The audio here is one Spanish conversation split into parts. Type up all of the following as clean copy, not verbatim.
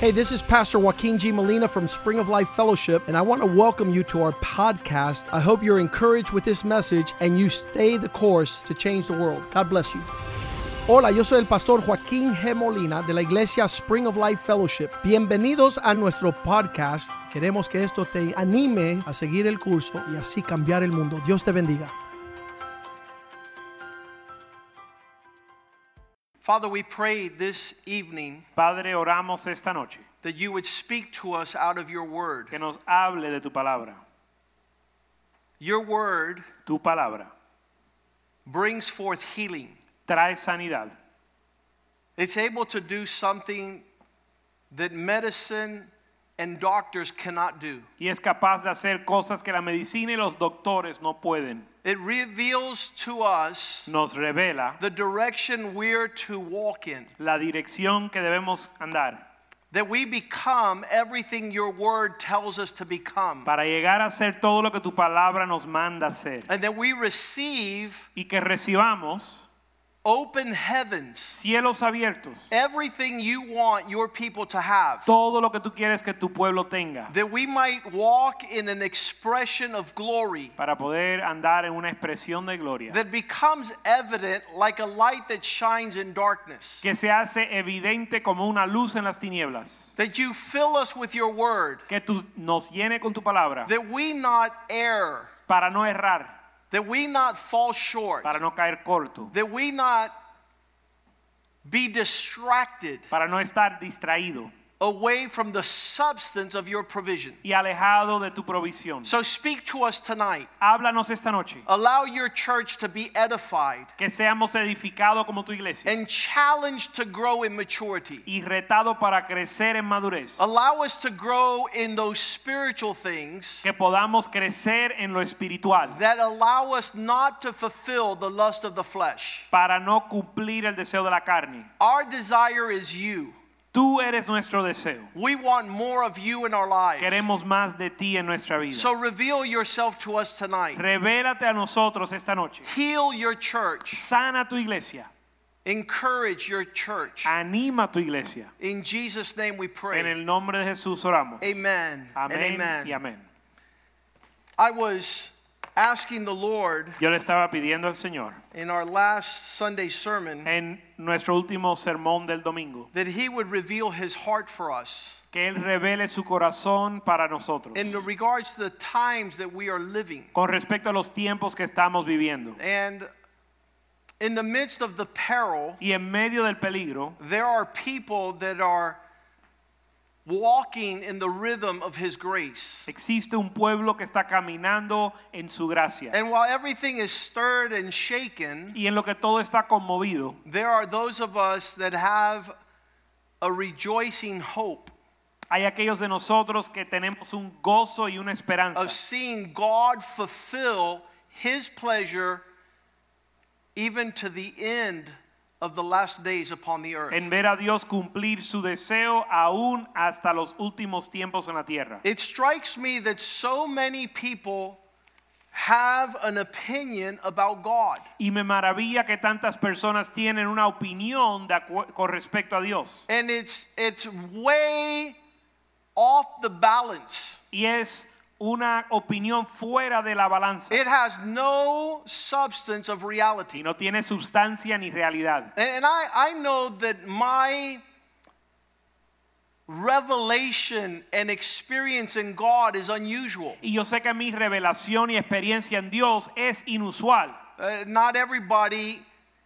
Hey, this is Pastor Joaquin G. Molina from Spring of Life Fellowship, and I want to welcome you to our podcast. I hope you're encouraged with this message and you stay the course to change the world. God bless you. Hola, yo soy el pastor Joaquín G. Molina de la iglesia Spring of Life Fellowship. Bienvenidos a nuestro podcast. Queremos que esto te anime a seguir el curso y así cambiar el mundo. Dios te bendiga. Father, we pray this evening Padre, oramos esta noche that you would speak to us out of your word. que nos hable de tu palabra. Your word Tu palabra brings forth healing. trae sanidad. It's able to do something that medicine and doctors cannot do. Y es capaz de hacer cosas que la medicina y los doctores no pueden. It reveals to us Nos revela the direction we're to walk in. la dirección que debemos andar That we become everything your word tells us to become. para llegar a ser todo lo que tu palabra nos manda hacer. And that we receive Y que recibamos open heavens. cielos abiertos. Everything you want your people to have. Todo lo que tú quieres que tu pueblo tenga. That we might walk in an expression of glory Para poder andar en una expresión de gloria. that becomes evident like a light that shines in darkness. Que se hace evidente como una luz en las tinieblas. That you fill us with your word. Que tú nos llene con tu palabra. That we not err. Para no errar. That we not fall short. Para no caer corto. That we not be distracted Para no estar distraído. away from the substance of your provision. Y alejado de tu provisión. So speak to us tonight. Háblanos esta noche. Allow your church to be edified Que seamos edificados como tu iglesia. and challenged to grow in maturity. Y retado para crecer en madurez. Allow us to grow in those spiritual things Que podamos crecer en lo espiritual. that allow us not to fulfill the lust of the flesh. Para no cumplir el deseo de la carne. Our desire is you. Tú eres nuestro deseo. We want more of you in our lives. Queremos más de ti en nuestra vida. So reveal yourself to us tonight. Revélate a nosotros esta noche. Heal your church. Sana tu iglesia. Encourage your church. Anima tu iglesia. In Jesus' name we En pray. el nombre de Jesús oramos. Amen and Amén amen. y amén. I was asking the Lord Yo le estaba pidiendo al Señor in our last Sunday sermon en nuestro último sermón del domingo that he would reveal his heart for us que él revele su corazón para nosotros in regards to the times that we are living. con respecto a los tiempos que estamos viviendo. And in the midst of the peril, Y en medio del peligro there are people that are walking in the rhythm of his grace. existe un pueblo que está caminando en su gracia. And while everything is stirred and shaken, Y en lo que todo está conmovido, there are those of us that have a rejoicing hope hay aquellos de nosotros que tenemos un gozo y una esperanza of seeing God fulfill his pleasure even to the end of the last days upon the earth. en ver a Dios cumplir su deseo aún hasta los últimos tiempos en la tierra. It strikes me that so many people have an opinion about God. Y me maravilla que tantas personas tienen una opinión con respecto a Dios. And it's way off the balance. Y es una opinión fuera de la balanza. It has no substance of reality. Y no tiene sustancia ni realidad. And I know that my revelation and experience in God is unusual. Y yo sé que mi revelación y experiencia en Dios es inusual. Not everybody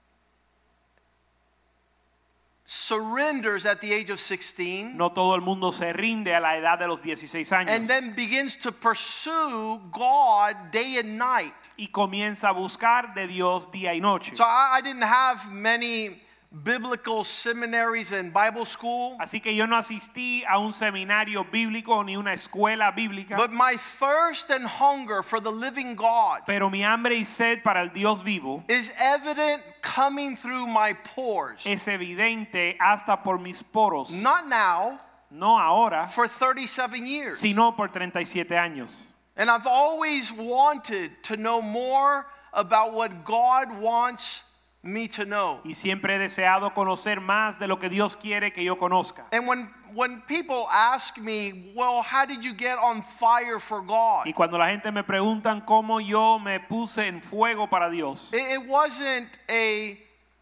surrenders at the age of 16 No todo el mundo se rinde a la edad de los 16 años. and then begins to pursue God day and night. Y comienza a buscar de Dios día y noche. So I didn't have many biblical seminaries and Bible school. Así que yo no asistí a un seminario bíblico ni una escuela bíblica. But my thirst and hunger for the living God Pero mi hambre y sed para el Dios vivo is evident coming through my pores. es evidente hasta por mis poros. Not now, No ahora, for 37 years. sino por 37 años. And I've always wanted to know more about what God wants me to know. Y siempre he deseado conocer más de lo que Dios quiere que yo conozca. And when people ask me, well, how did you get on fire for God? Y cuando la gente me preguntan cómo yo me puse en fuego para Dios, It wasn't a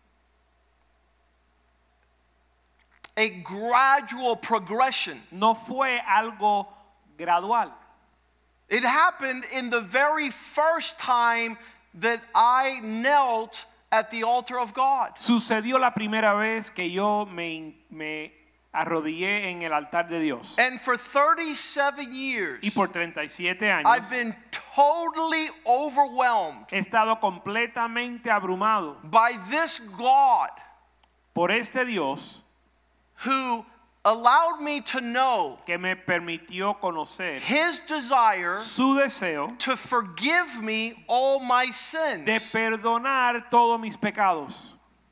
gradual progression. no fue algo gradual. It happened in the very first time that I knelt at the altar of God. Sucedió la primera vez que yo me arrodillé en el altar de Dios. And for 37 years, Y por 37 años I've been totally overwhelmed he estado completamente abrumado by this God por este Dios who allowed me to know que me permitió conocer His desire su deseo to forgive me all my de sins. perdonar todos mis pecados.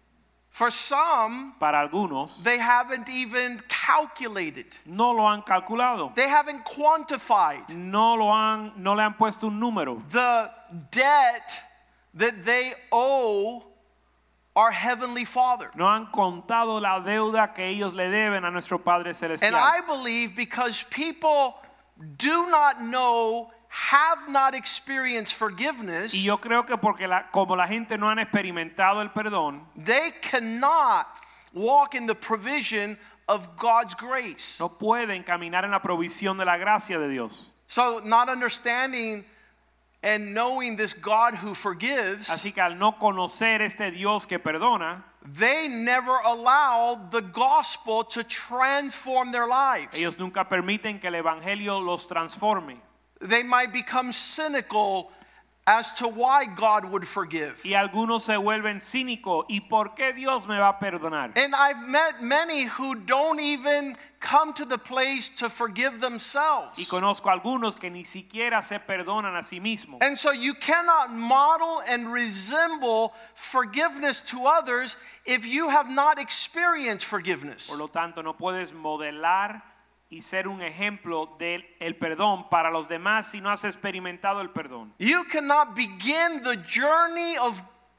For some, Para algunos they haven't even calculated. no lo han calculado, They haven't quantified no le han puesto un número, the debt that they owe our Heavenly Father. no han contado la deuda que ellos le deben a nuestro Padre Celestial. And I believe because people do not know, have not experienced forgiveness, Y yo creo que porque como la gente no han experimentado el perdón, they cannot walk in the provision of God's grace. no pueden caminar en la provisión de la gracia de Dios. So not understanding and knowing this God who forgives, Así que al no conocer este Dios que perdona, they never allow the gospel to transform their lives. ellos nunca permiten que el evangelio los transforme. They might become cynical as to why God would forgive. Y algunos se vuelven cínicos. ¿Y por qué Dios me va a perdonar? And I've met many who don't even come to the place to forgive themselves. Y conozco algunos que ni siquiera se perdonan a sí mismos. And so you cannot model and resemble forgiveness to others if you have not experienced forgiveness. Por lo tanto, no puedes modelar y ser un ejemplo del perdón para los demás si no has experimentado el perdón. You cannot begin the journey of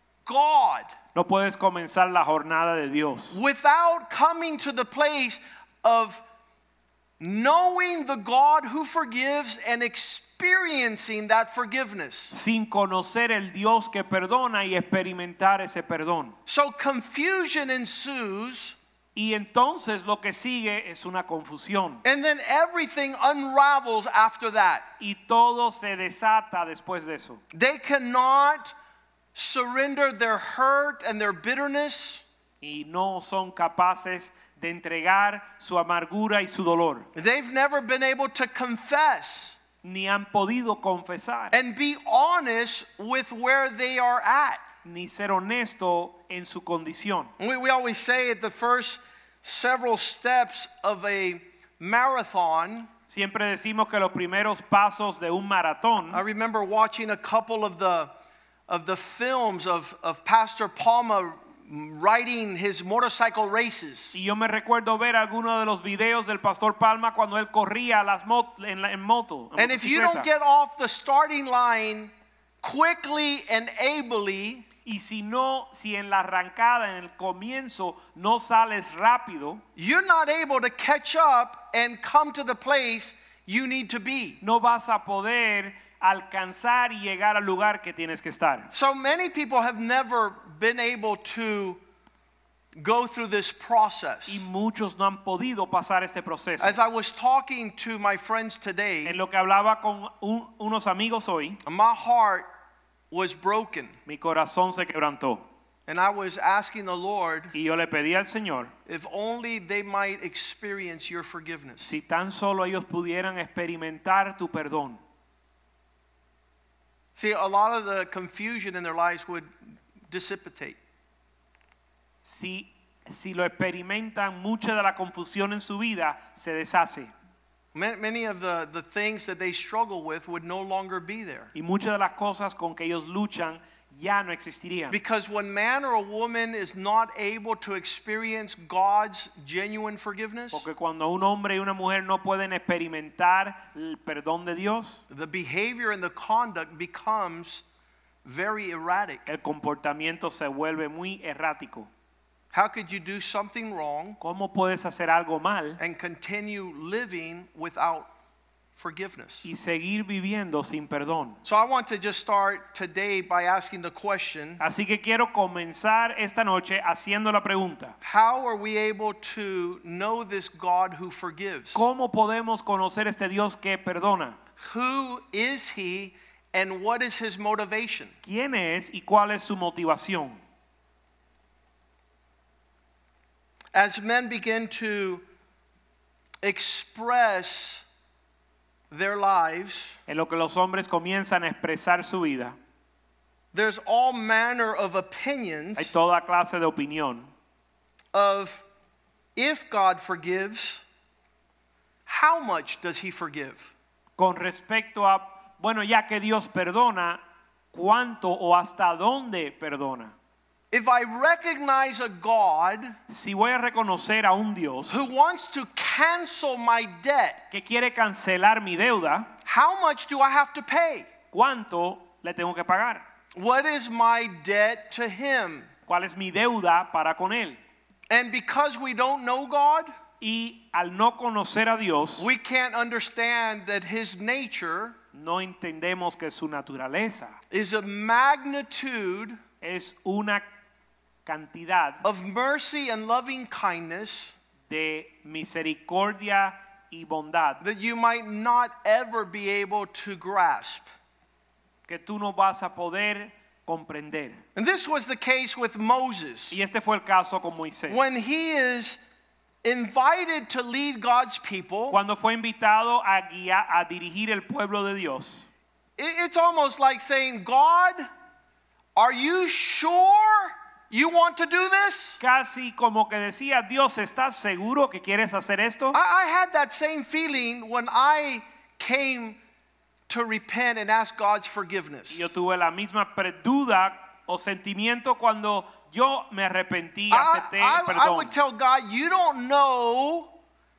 God No puedes comenzar la jornada de Dios without coming to the place of knowing the God who forgives and experiencing that forgiveness. sin conocer el Dios que perdona y experimentar ese perdón. So confusion ensues, Y entonces lo que sigue es una confusión. and then everything unravels after that. Y todo se desata después de eso. They cannot surrender their hurt and their bitterness. Y no son capaces de entregar su amargura y su dolor. They've never been able to confess Ni han podido confesar. and be honest with where they are at. Ni ser honesto en su condición. We always say at the first several steps of a marathon, Siempre decimos que los primeros pasos de un maratón. I remember watching a couple of the films of Pastor Palma riding his motorcycle races. Y yo me recuerdo ver algunos de los videos del Pastor Palma cuando él corría en moto. En And if you motocicleta. don't get off the starting line quickly and ably, Y si en la arrancada, en el comienzo, no sales rápido, you're not able to catch up and come to the place you need to be. no vas a poder alcanzar y llegar al lugar que tienes que estar. So many people have never been able to go through this process. Y muchos no han podido pasar este proceso. As I was talking to my friends today, En lo que hablaba con unos amigos hoy, my heart was broken, mi corazón se quebrantó. and I was asking the Lord Y yo le pedí al Señor, if only they might experience your forgiveness. si tan solo ellos pudieran experimentar tu perdón. See, a lot of the confusion in their lives would dissipate. Si lo experimentan, mucha de la confusión en su vida se deshace. Many of the things that they struggle with would no longer be there. Y muchas de las cosas con que ellos luchan ya no existirían. Because when man or a woman is not able to experience God's genuine forgiveness, Porque cuando un hombre y una mujer no pueden experimentar el perdón de Dios, the behavior and the conduct becomes very erratic. El comportamiento se vuelve muy errático. How could you do something wrong ¿Cómo puedes hacer algo mal and continue living without forgiveness? y seguir viviendo sin perdón? So I want to just start today by asking the question, Así que quiero comenzar esta noche haciendo la pregunta: how are we able to know this God who forgives? ¿cómo podemos conocer este Dios que perdona? Who is he and what is his motivation? ¿Quién es y cuál es su motivación? As men begin to express their lives, En lo que los hombres comienzan a expresar su vida, there's all manner of hay opinions toda clase de opinión of if God forgives, how much does he forgive? con respecto a, bueno, ya que Dios perdona, ¿cuánto o hasta dónde perdona? If I recognize a God Si voy a reconocer a un Dios who wants to cancel my debt, que quiere cancelar mi deuda, how much do I have to pay? ¿cuánto le tengo que pagar? What is my debt to him? ¿Cuál es mi deuda para con él? And because we don't know God, Y al no conocer a Dios, we can't understand that his nature no entendemos que su naturaleza is a magnitude es una cantidad of mercy and loving kindness de misericordia y bondad that you might not ever be able to grasp. que tú no vas a poder comprender. And this was the case with Moses. Y este fue el caso con Moisés. When he is invited to lead God's people, Cuando fue invitado a guiar, a dirigir el pueblo de Dios, it's almost like saying, God, are you sure you want to do this? casi como que decía: Dios, ¿estás seguro que quieres hacer esto? I had that same feeling when I came to repent and ask God's forgiveness. Yo tuve la misma duda o sentimiento cuando yo me arrepentí, acepté el I perdón. would tell God, you don't know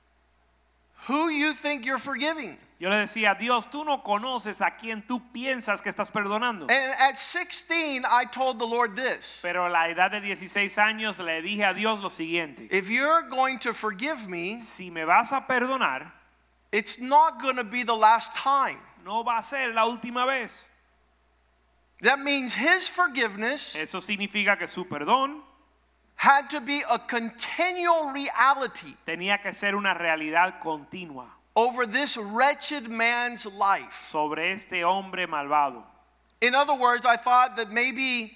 who you think you're forgiving. Yo le decía: Dios, tú no conoces a quien tú piensas que estás perdonando. And at 16, I told the Lord this. Pero a la edad de 16 años le dije a Dios lo siguiente: If you're going to forgive me, si me vas a perdonar, it's not going to be the last time. no va a ser la última vez. That means his forgiveness Eso significa que su perdón had to be a continual reality tenía que ser una realidad continua over this wretched man's life. sobre este hombre malvado. In other words, I thought that maybe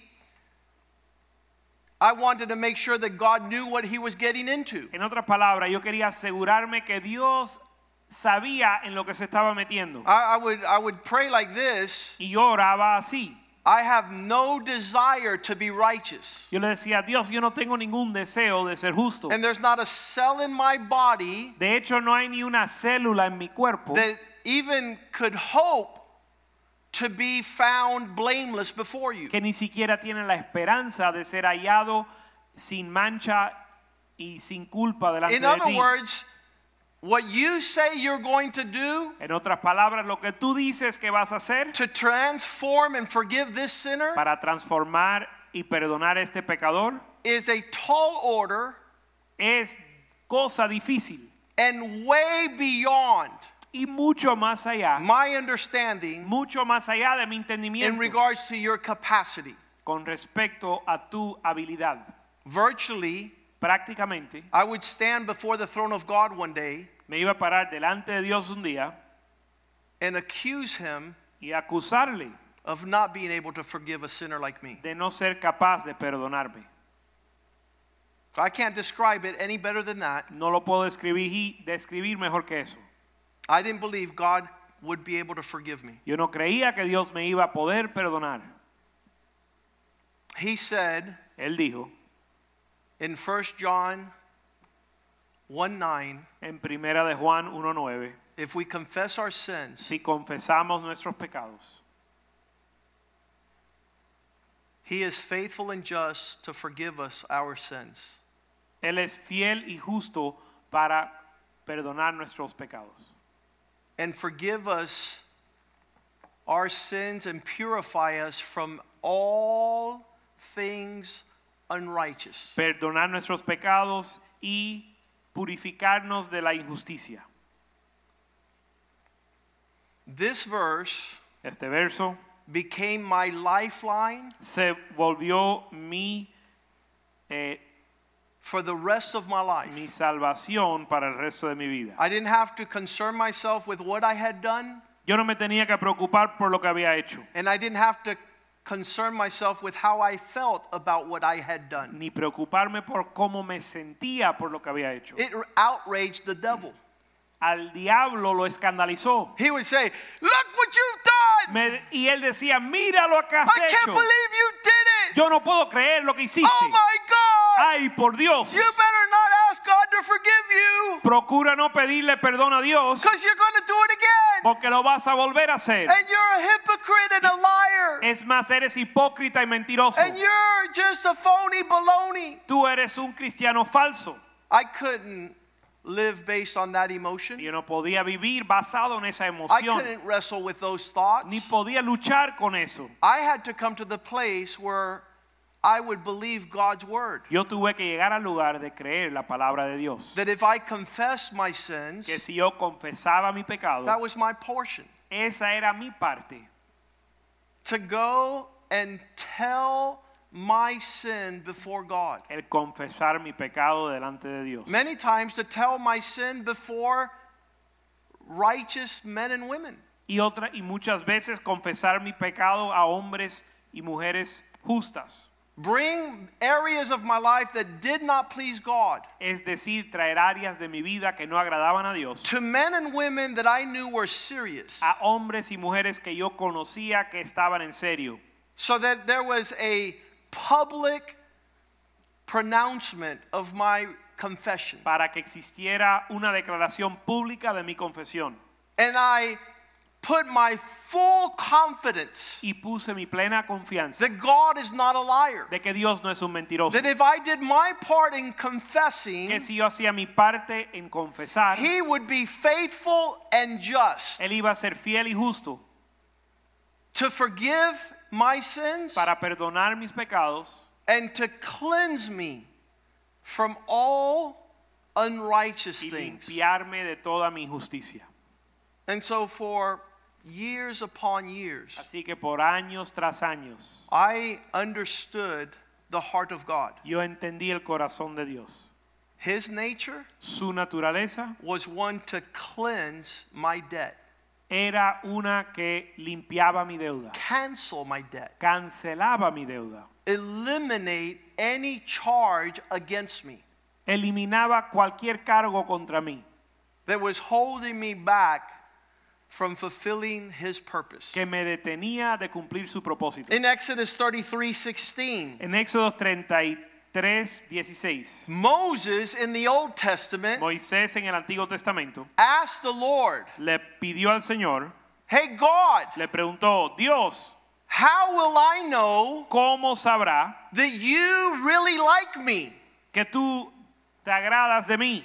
I wanted to make sure that God knew what he was getting into. En otras palabras, yo quería asegurarme que Dios sabía en lo que se estaba metiendo. I would pray like this. Y yo oraba así. I have no desire to be righteous. Yo le decía: Dios, yo no tengo ningún deseo de ser justo. And there's not a cell in my body De hecho, no hay ni una célula en mi cuerpo that even could hope to be found blameless before you. que ni siquiera tiene la esperanza de ser hallado sin mancha y sin culpa delante In de other ti. words, what you say you're going to do En otras palabras, lo que tú dices que vas a hacer to transform and forgive this sinner para transformar y perdonar a este pecador is a tall order es cosa difícil and way beyond y mucho más allá, my understanding mucho más allá de mi in entendimiento regards to your capacity. con respecto a tu habilidad. Virtually, Prácticamente I would stand before the throne of God one day me iba a parar delante de Dios un día and accuse him y acusarle of not being able to forgive a sinner like me. de no ser capaz de perdonarme. I can't describe it any better than that. No lo puedo describir mejor que eso. I didn't believe God would be able to forgive me. Yo no creía que Dios me iba a poder perdonar. He said Él dijo in 1 John 1:9, en Primera de Juan 1:9, if we confess our sins, si confesamos nuestros pecados, he is faithful and just to forgive us our sins Él es fiel y justo para perdonar nuestros pecados and forgive us our sins and purify us from all things unrighteous. Perdonar nuestros pecados y purificarnos de la injusticia. This verse Este verso became my lifeline se volvió mi for the rest of my life. salvación para el resto de mi vida. I didn't have to concern myself with what I had done, Yo no me tenía que preocupar por lo que había hecho, and I didn't have to concern myself with how I felt about what I had done. ni preocuparme por cómo me sentía por lo que había hecho. It outraged the devil. Al diablo lo escandalizó. He would say, "Look what you've done! Y él decía, mira lo que has I can't hecho. believe you did it! Yo no puedo creer lo que hiciste. Oh my God! Ay, por Dios. You better not ask God to forgive you, Procura no pedirle perdón a Dios, because you're going to do it again. porque lo vas a volver a hacer. And you're a hypocrite and a liar. Es más, eres hipócrita y mentiroso. And you're just a phony baloney." Tú eres un cristiano falso. I couldn't live based on that emotion. Yo no podía vivir basado en esa I emoción, couldn't wrestle with those thoughts. ni podía luchar con eso. I had to come to the place where I would believe God's word. Yo tuve que llegar al lugar de creer la palabra de Dios. That if I confessed my sins, Que si yo confesaba mi pecado, that was my portion. esa era mi parte. To go and tell my sin before God. El confesar mi pecado delante de Dios. Many times to tell my sin before righteous men and women. Y muchas veces confesar mi pecado a hombres y mujeres justas. Bring areas of my life that did not please God Es decir, traer áreas de mi vida que no agradaban a Dios to men and women that I knew were serious, a hombres y mujeres que yo conocía que estaban en serio, so that there was a public pronouncement of my confession. para que existiera una declaración pública de mi confesión. And I put my full confidence Y puse mi plena confianza that God is not a liar. de que Dios no es un mentiroso. That if I did my part in confessing, Que si yo hacía mi parte en confesar, He would be faithful and just Él iba a ser fiel y justo to forgive my sins para perdonar mis pecados and to cleanse me from all unrighteous y things. limpiarme de toda mi injusticia. And so for years upon years, Así que por años tras años, I understood the heart of God. yo entendí el corazón de Dios. His nature Su naturaleza was one to cleanse my debt, era una que limpiaba mi deuda, cancel my debt, cancelaba mi deuda, eliminate any charge against me eliminaba cualquier cargo contra mí that was holding me back from fulfilling His purpose. que me detenía de cumplir su propósito. In Exodus 33:16, En Éxodo 33:16, Moses in the Old Testament Moisés en el Antiguo Testamento asked the Lord, le pidió al Señor, "Hey God, le preguntó, Dios, how will I know ¿cómo sabrá that you really like me? que tú te agradas de mí?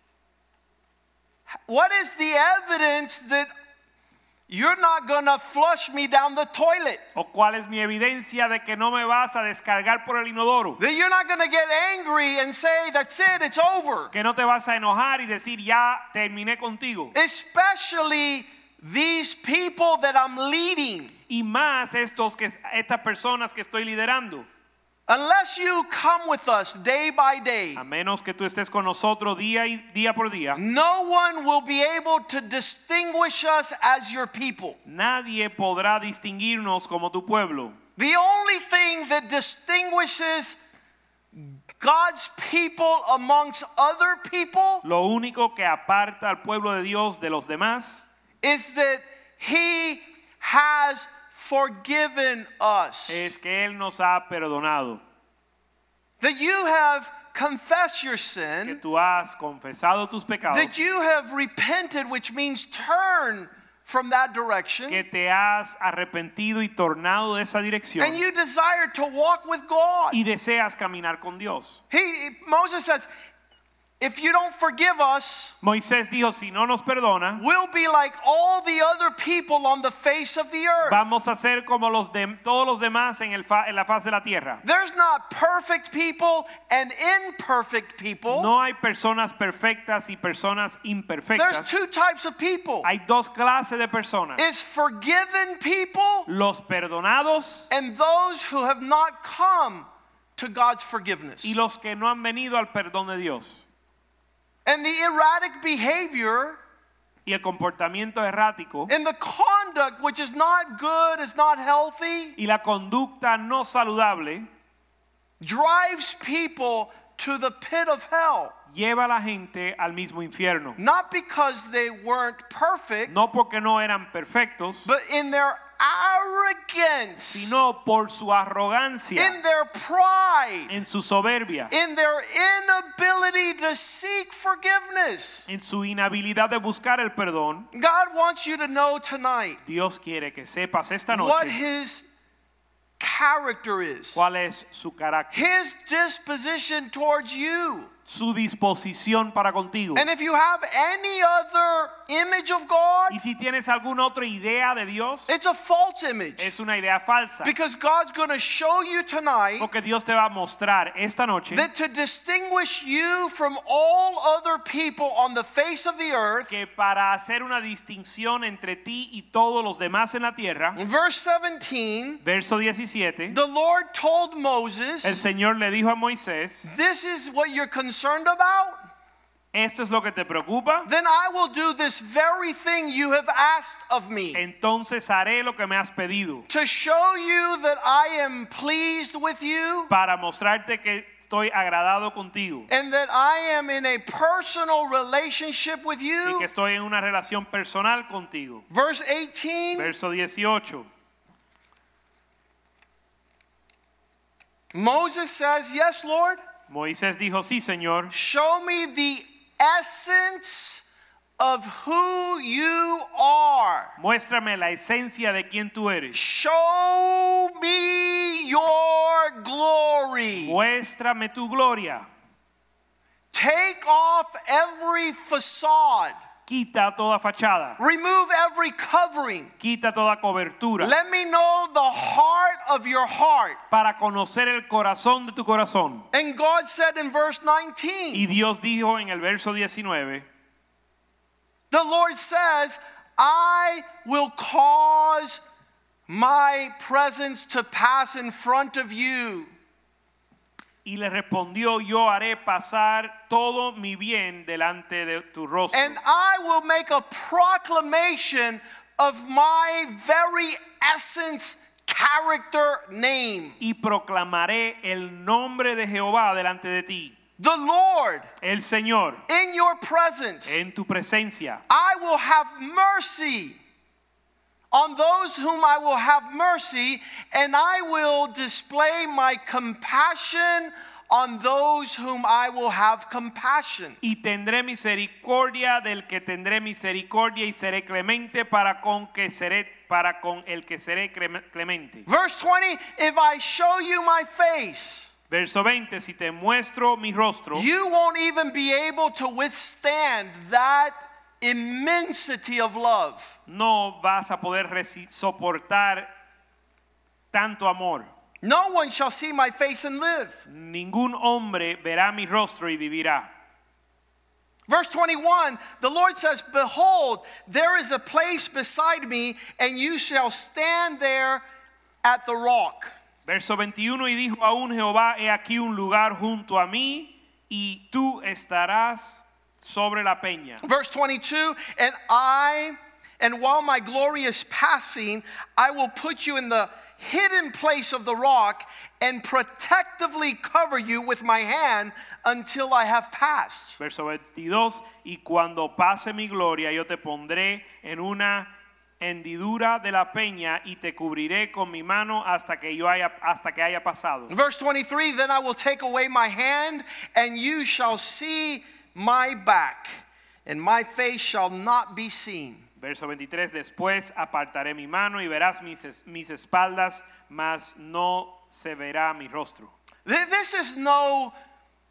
What is the evidence that you're not going to flush me down the toilet? ¿O cuál es mi evidencia de que no me vas a descargar por el inodoro? That you're not going to get angry and say, that's it, it's over." Que no te vas a enojar y decir, ya terminé contigo. Especially these people that I'm leading. Y más estas personas que estoy liderando. Unless you come with us day by day, A menos que tú estés con nosotros día por día, no one will be able to distinguish us as your people. nadie podrá distinguirnos como tu pueblo. The only thing that distinguishes God's people amongst other people Lo único que aparta al pueblo de Dios de los demás is that He has forgiven us. es que Él nos ha perdonado. That you have confessed your Que sin, tú has confesado tus pecados. that you have repented, which means turn from that direction, Que te has arrepentido y tornado de esa dirección. and you desire to walk with God. Y deseas caminar con Dios. Moses says, if you don't forgive us, Moisés dijo, si no nos perdona, we'll be like all the other people on the face of the earth. vamos a ser como todos los demás en la faz de la tierra. There's not perfect people and imperfect people. No hay personas perfectas y personas There's imperfectas. two types of people. Hay dos clases de personas. It's forgiven people Los perdonados and those who have not come to God's forgiveness. y los que no han venido al perdón de Dios. And the erratic behavior Y el comportamiento errático and the conduct which is not good, is not healthy, y la conducta no saludable drives people to the pit of hell. lleva a la gente al mismo infierno. Not because they weren't perfect, No porque no eran perfectos, but in their arrogance, sino por su arrogancia, in their pride, en su soberbia, in their inability to seek forgiveness. en su inhabilidad de buscar el perdón. God wants you to know tonight Dios quiere que sepas esta what noche His character is, cuál es su carácter, His disposition towards you. su disposición para contigo. And if you have any other image of God, Y si tienes alguna otra idea de Dios, it's a false image. es una idea falsa. Because God's going to show you tonight Porque Dios te va a mostrar esta noche that to distinguish you from all other people on the face of the earth, que para hacer una distinción entre ti y todos los demás en la tierra, in verse 17, verso 17, the Lord told el Moses, Señor le dijo a Moisés, this is what you're concerned about? esto es lo que te preocupa, Then I will do this very thing you have asked of me, entonces haré lo que me has pedido, to show you that I am pleased with you para mostrarte que estoy agradado contigo and that I am in a personal relationship with y you. que estoy en una relación personal contigo. Verse 18, Verso 18. Moses says, yes, Lord, Moisés dijo, sí, Señor, show me the essence of who you are. muéstrame la esencia de quién tú eres. Show me your glory. Muéstrame tu gloria. Take off every facade. Quita toda fachada. Remove every covering. Quita toda cobertura. Let me know the heart of your heart. Para conocer el corazón de tu corazón. And God said in verse 19, Y Dios dijo en el verso 19, the Lord says, I will cause my presence to pass in front of you. y le respondió, yo haré pasar todo mi bien delante de tu rostro. And I will make a proclamation of my very essence, character, name. Y proclamaré el nombre de Jehová delante de ti. The Lord, El Señor, in your presence, en tu presencia. I will have mercy on those whom I will have mercy, and I will display my compassion on those whom I will have compassion. Y tendré misericordia del que tendré misericordia y seré clemente para con el que seré clemente. Verse 20, if I show you my face, Verso 20, si te muestro mi rostro, you won't even be able to withstand that immensity of love. no vas a poder soportar tanto amor. No one shall see my face and live. Ningún hombre verá mi rostro y vivirá. Verse 21, the Lord says, behold, there is a place beside me, and you shall stand there at the rock. Verso 21, y dijo aún Jehová, he aquí un lugar junto a mí, y tú estarás sobre la peña. Verse 22, and while my glory is passing, I will put you in the hidden place of the rock and protectively cover you with my hand until I have passed. Verso 22, y cuando pase mi gloria, yo te pondré en una hendidura de la peña y te cubriré con mi mano hasta que haya pasado. Verse 23, then I will take away my hand, and you shall see my back, and my face shall not be seen. Verso 23, después apartaré mi mano y verás mis espaldas, mas no se verá mi rostro. This is no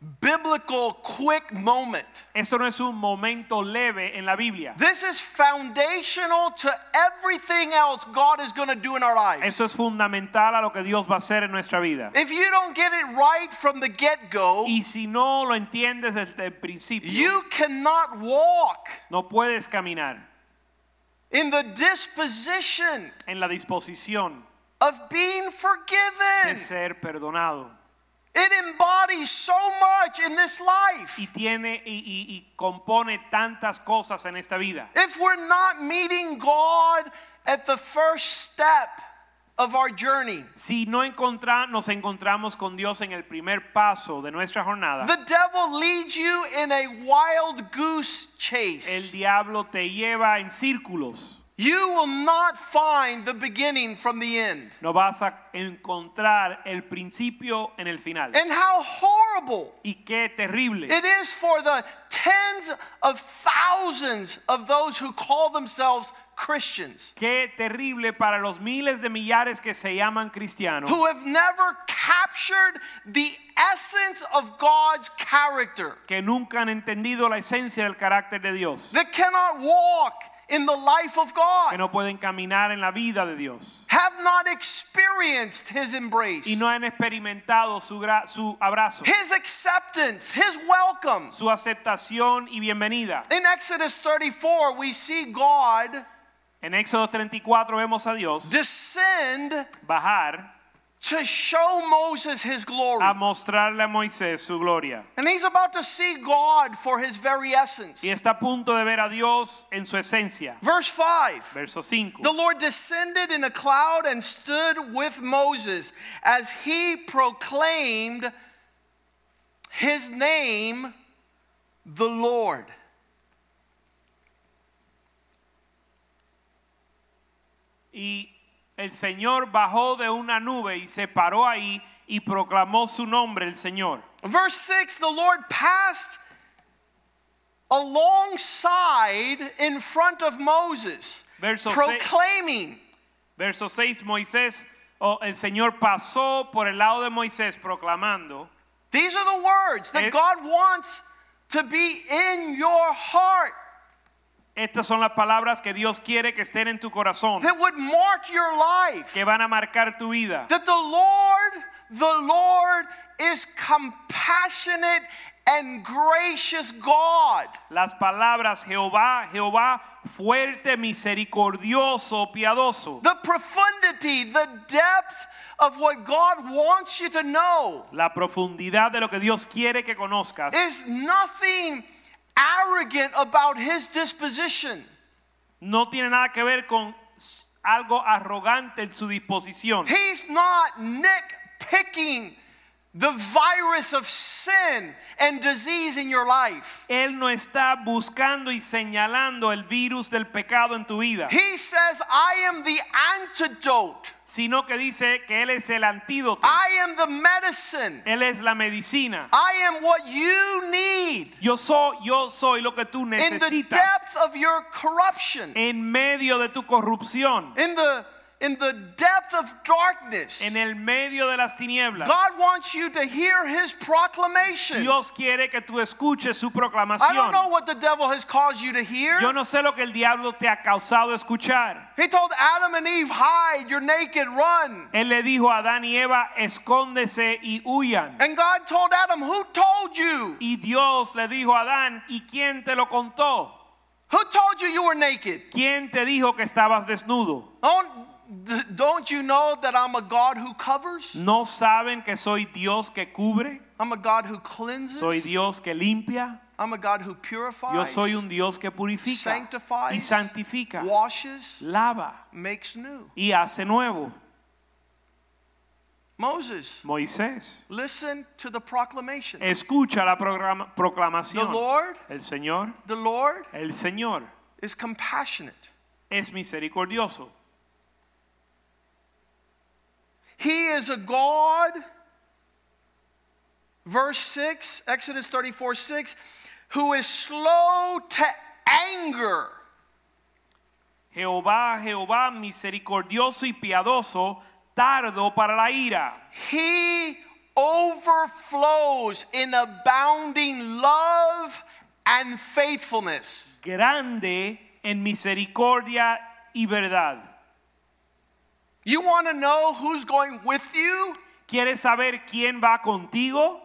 biblical quick moment. Esto no es un momento leve en la Biblia. This is foundational to everything else God is going to do in our lives. Esto es fundamental a lo que Dios va a hacer en nuestra vida. If you don't get it right from the get-go, Y si no lo entiendes desde el principio, you cannot walk no puedes caminar in the disposition en la disposición of being de forgiven. ser perdonado. It embodies so much in this life. Y tiene y compone tantas cosas en esta vida. If we're not meeting God at the first step of our journey, Si no nos encontramos con Dios en el primer paso de nuestra jornada, the devil leads you in a wild goose el chase. diablo te lleva en círculos. You will not find the beginning from the end. No vas a encontrar el principio en el final. And how horrible Y qué terrible it is for the tens of thousands of those who call themselves Christians, Qué terrible para los miles de millares que se llaman cristianos, who have never captured the essence of God's character, que nunca han entendido la esencia del carácter de Dios, that cannot walk in the life of que God, no pueden caminar en la vida de Dios have not experienced His embrace, y no han experimentado su abrazo, His acceptance, His welcome. su aceptación y bienvenida. In Exodus 34, we see God En Éxodo 34 vemos a Dios descend bajar to show Moses His glory. a mostrarle a Moisés su gloria. And he's about to see God for His very essence. Y está a punto de ver a Dios en su esencia. Verse 5. Verso 5. The Lord descended in a cloud and stood with Moses as he proclaimed His name, the Lord. Y el Señor bajó de una nube y se paró ahí y proclamó su nombre, el Señor. Verse 6, the Lord passed alongside in front of Moses, Verso proclaiming. Verso 6, el Señor pasó por el lado de Moisés proclamando. These are the words that God wants to be in your heart, Estas son las palabras que Dios quiere que estén en tu corazón, that would mark your life. que van a marcar tu vida. That the Lord is compassionate and gracious God. Las palabras Jehová, Jehová, fuerte, misericordioso, piadoso. The profundity, the depth of what God wants you to know La profundidad de lo que Dios quiere que conozcas is nothing arrogant about His disposition. no tiene nada que ver con algo arrogante en su disposición. He's not nitpicking the virus of sin and disease in your life. Él no está buscando y señalando el virus del pecado en tu vida, He says, I am the antidote. sino que dice que Él es el antídoto. I am the medicine. Él es la medicina. I am what you need Yo soy lo que tú in the necesitas depth of your corruption, en medio de tu corrupción, in the depth of darkness. en el medio de las tinieblas. God wants you to hear His proclamation. Dios quiere que tú escuches su I don't proclamación. know what the devil has caused you to hear. Yo no sé lo que el diablo te ha causado escuchar. He told Adam and Eve, hide, you're naked, run. Él le dijo a Adán y Eva, escóndese y huyan. And God told Adam, who told you? Y Dios le dijo a Adán, ¿y quién te lo contó? Who told you you were naked? ¿Quién te dijo que estabas desnudo? Don't you know that I'm a God who covers? ¿No saben que soy Dios que cubre? I'm a God who cleanses. Soy Dios que limpia. I'm a God who purifies. Yo soy un Dios que purifica Sanctifies. y santifica, Washes. lava Makes new. y hace nuevo. Moses, Moisés, listen to the proclamation. escucha la The proclamación. Lord, El Señor is compassionate. es misericordioso. He is a God, verse 6, Exodus 34:6, who is slow to anger. Jehová, Jehová, misericordioso y piadoso, tardo para la ira. He overflows in abounding love and faithfulness. grande en misericordia y verdad. You want to know who's going with you? ¿Quieres saber quién va contigo?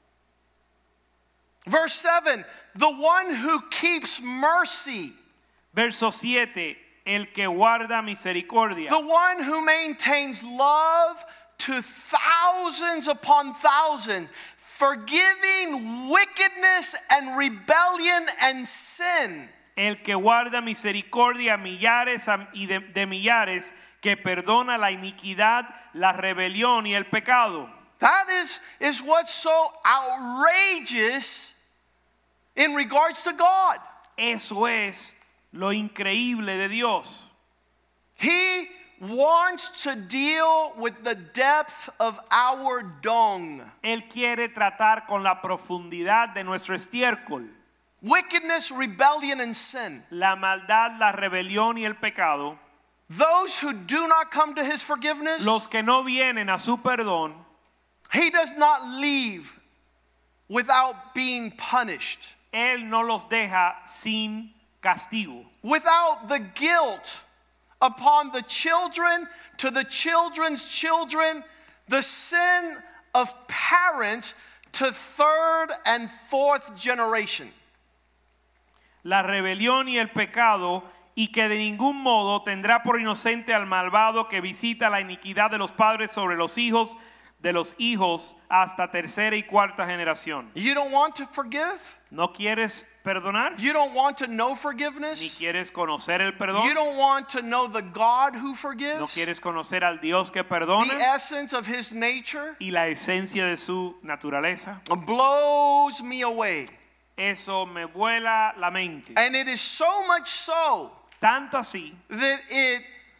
Verse 7, the one who keeps mercy, Verso 7, el que guarda misericordia. the one who maintains love to thousands upon thousands, forgiving wickedness and rebellion and sin. El que guarda misericordia a millares y de millares, que perdona la iniquidad, la rebelión y el pecado. That is what's so outrageous in regards to God. Eso es lo increíble de Dios. He wants to deal with the depth of our dung. Él quiere tratar con la profundidad de nuestro estiércol. Wickedness, rebellion, and sin. La maldad, la rebelión y el pecado. Those who do not come to his forgiveness, Los que no vienen a su perdón, he does not leave without being punished, Él no los deja sin castigo. without the guilt upon the children to the children's children, the sin of parents to third and fourth generation. La rebelión y el pecado, y que de ningún modo tendrá por inocente al malvado que visita la iniquidad de los padres sobre los hijos de los hijos hasta tercera y cuarta generación. You don't want to forgive? ¿No quieres perdonar? You don't want to know ¿Ni forgiveness? quieres conocer el perdón? You don't want to know the God who ¿No forgives? quieres conocer al Dios que The perdona? essence of his nature Y la esencia de su naturaleza. blows me away. Eso me vuela la mente. And it is so much so Tanto así that it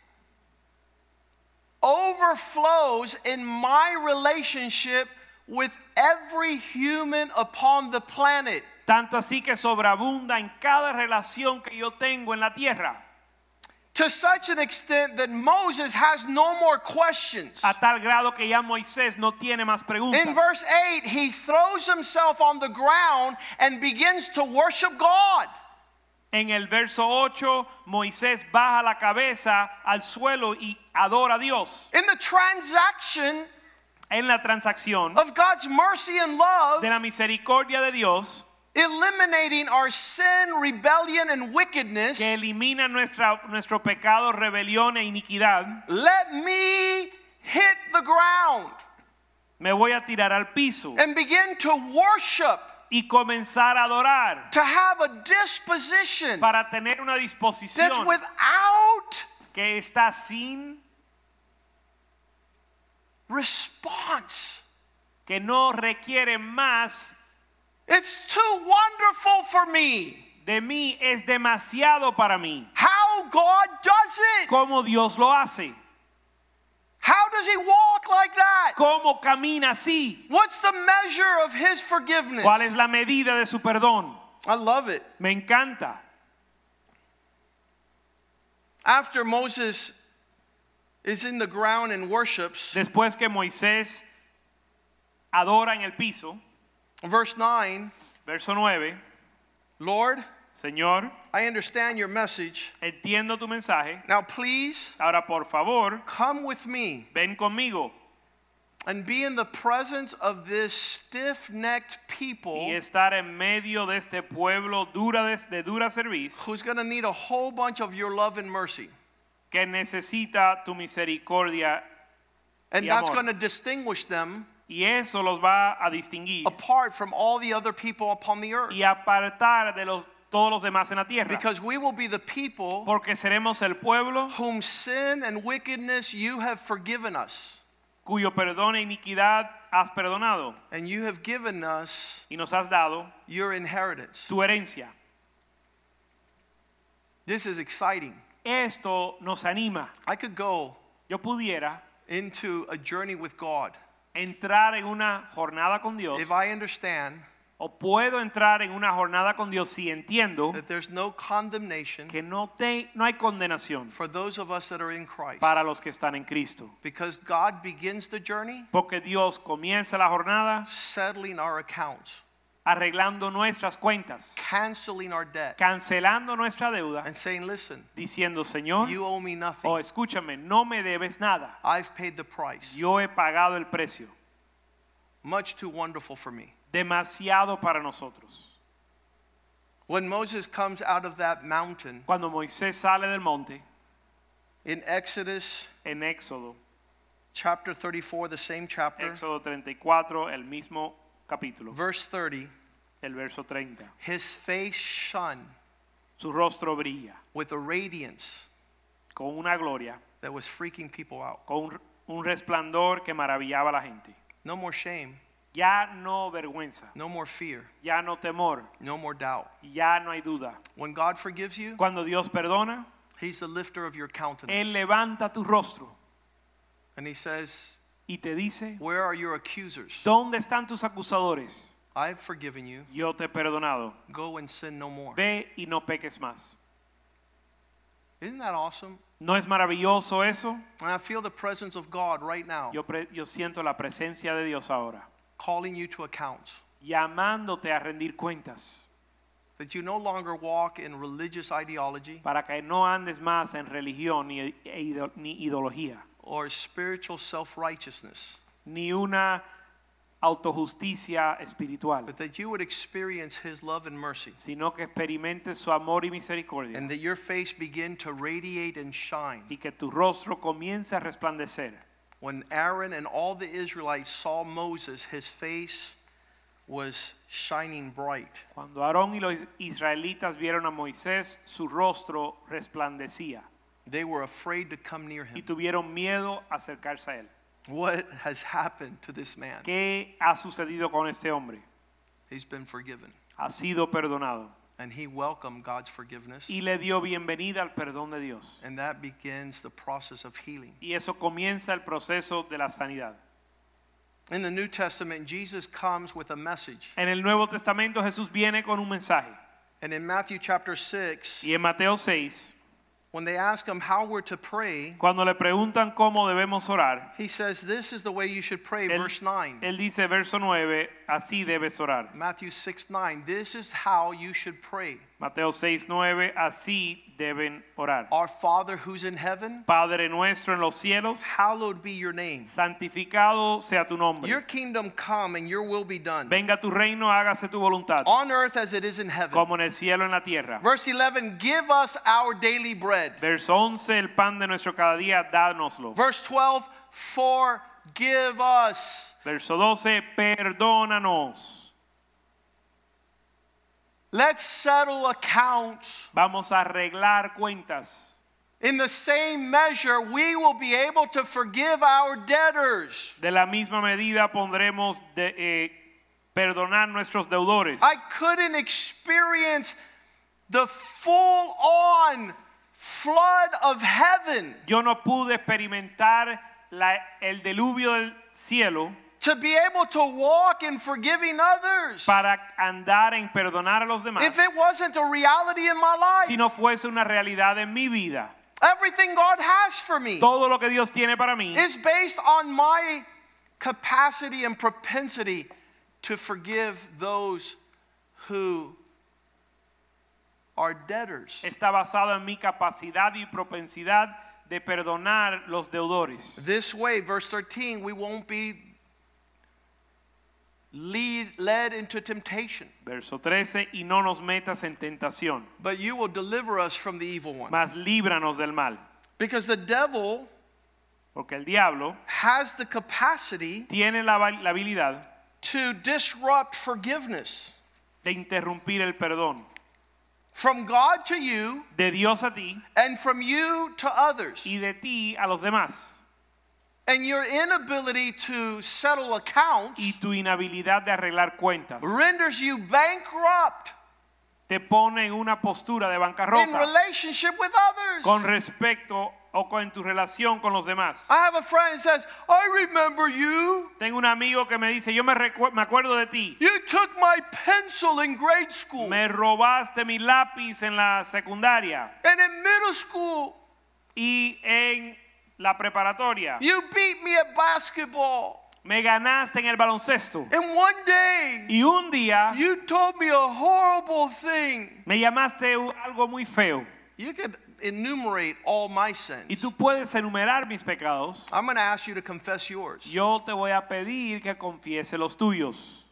overflows in my relationship with every human upon the planet. tanto así que sobreabunda en cada relación que yo tengo en la tierra. To such an extent that Moses has no more questions. A tal grado que ya Moisés no tiene más preguntas. In verse 8, he throws himself on the ground and begins to worship God. En el verso 8, Moisés baja la cabeza al suelo y adora a Dios. In the transaction En la transacción of God's mercy and love, de la misericordia de Dios, eliminating our sin, rebellion, and wickedness, que elimina nuestro pecado, rebelión e iniquidad, let me hit the ground me voy a tirar al piso and begin to worship, y comenzar a adorar to have a disposition para tener una that's disposición without que está sin, response. que no requiere más It's too wonderful for me. de mí, es demasiado para mí. How God does it. ¿Cómo Dios lo hace? How does he walk like that? ¿Cómo camina así? What's the measure of his forgiveness? ¿Cuál es la medida de su perdón? I love it. Me encanta. After Moses is in the ground and worships, Después que Moisés adora en el piso, verse 9, verso 9, Lord, Señor, I understand your message. entiendo tu mensaje. Now please Ahora por favor, come with me ven conmigo and be in the presence of this stiff-necked people y estar en medio de este pueblo de dura cerviz who's going to need a whole bunch of your love and mercy. que necesita tu misericordia And y that's amor. going to distinguish them Y eso los va a distinguir apart from all the other people upon the earth. y apartar de todos los demás en la tierra. Because we will be the people Porque seremos el pueblo whom sin and wickedness you have forgiven us. cuyo perdón e iniquidad has perdonado And you have given us y nos has dado your inheritance. tu herencia. This is exciting. Esto nos anima. I could go Yo pudiera into a journey with God entrar en una jornada con Dios if I understand O puedo entrar en una jornada con Dios si entiendo that there's no condemnation que no hay condenación for those of us that are in Christ. para los que están en Cristo. Because God begins the journey Porque Dios comienza la jornada settling our accounts, arreglando nuestras cuentas, canceling our debt, cancelando nuestra deuda, and saying, listen, diciendo, Señor, you owe me nothing. o escúchame, no me debes nada. I've paid the price. Yo he pagado el precio. Much too wonderful for me. Demasiado para nosotros. When Moses comes out of that mountain Cuando Moisés sale del monte, in Exodus en Éxodo, chapter 34, the same chapter, Éxodo 34, el mismo capítulo, verse 30, el verso 30. his face shone Su rostro brilla with a radiance con una gloria, that was freaking people out. con un resplandor que maravillaba a la gente. No more shame, Ya no vergüenza, no more fear, ya no temor, no more doubt. ya no hay duda. When God forgives you, Cuando Dios perdona, he's the lifter of your countenance. Él levanta tu rostro And he says, y te dice, where are your accusers? ¿dónde están tus acusadores? I've forgiven you. Yo te he perdonado. Go and sin no more. Ve y no peques más. Isn't that awesome? ¿No es maravilloso eso? And I feel the presence of God right now Yo siento la presencia de Dios ahora, calling you to account. llamándote a rendir cuentas, That you no longer walk in religious ideology para que no andes más en religión ni ideología, or spiritual self-righteousness, ni una autojusticia espiritual, but that you would experience his love and mercy, sino que experimentes su amor y misericordia and that your face begin to radiate and shine. y que tu rostro comience a resplandecer. When Aaron and all the Israelites saw Moses, his face was shining bright. Cuando Aarón y los israelitas vieron a Moisés, su rostro resplandecía They were afraid to come near y him. tuvieron miedo a acercarse a él. What has happened to this man? ¿Qué ha sucedido con este hombre? He's been forgiven. Ha sido perdonado And he welcomed God's forgiveness. y le dio bienvenida al perdón de Dios. And that begins the process of healing. Y eso comienza el proceso de la sanidad. In the New Testament, Jesus comes with a message. En el Nuevo Testamento Jesús viene con un mensaje. And in Matthew chapter 6, Y en Mateo 6, when they ask him how we're to pray, cuando le preguntan cómo debemos orar, he says, this is the way you should pray, verse 9. él dice, verso 9, así debes orar. Matthew 6:9, this is how you should pray. Mateo 6:9, así deben orar. Our Father who's in heaven, Padre nuestro en los cielos, hallowed be your name. santificado sea tu Your nombre. kingdom come and your will be done, Venga tu reino, hágase tu voluntad, on earth as it is in heaven. como en el cielo en la tierra. Verse 11, give us our daily bread. Verso 11, el pan de nuestro cada día, dánoslo. Verse 12, forgive us. Verso 12, perdónanos. Let's settle accounts. Vamos a arreglar cuentas. In the same measure, we will be able to forgive our debtors. De la misma medida pondremos perdonar nuestros deudores. I couldn't experience the full-on flood of heaven Yo no pude experimentar el diluvio del cielo to be able to walk in forgiving others para andar en perdonar a los demás if it wasn't a reality in my life. si no fuese una realidad en mi vida. Everything God has for me Todo lo que Dios tiene para mí is based on my capacity and propensity to forgive those who are debtors. está basado en mi capacidad y propensidad de perdonar los deudores. This way, verse 13, we won't be led into temptation, Verso 13, y no nos metas en tentación, but you will deliver us from the evil one. mas líbranos del mal. Because the devil Porque el diablo has the capacity tiene la habilidad to disrupt forgiveness de interrumpir el perdón. from God to you De Dios a ti and from you to others. y de ti a los demás. And your inability to settle accounts Y tu inhabilidad de arreglar cuentas renders you bankrupt te pone en una postura de in bancarrota relationship with others. con respecto o con tu relación con los demás. I have a friend that says, I remember you. Tengo un amigo que me dice, yo me acuerdo de ti. You took my pencil in grade school. Me robaste mi lápiz en la secundaria And in middle school, y en la preparatoria. you beat me at basketball. Me ganaste en el baloncesto. And one day, Y un día you told me a horrible thing. me llamaste algo muy feo. You could enumerate all my Y sins. tú puedes enumerar mis pecados. I'm going to ask you to confess yours. Yo te voy a pedir que confiese los tuyos.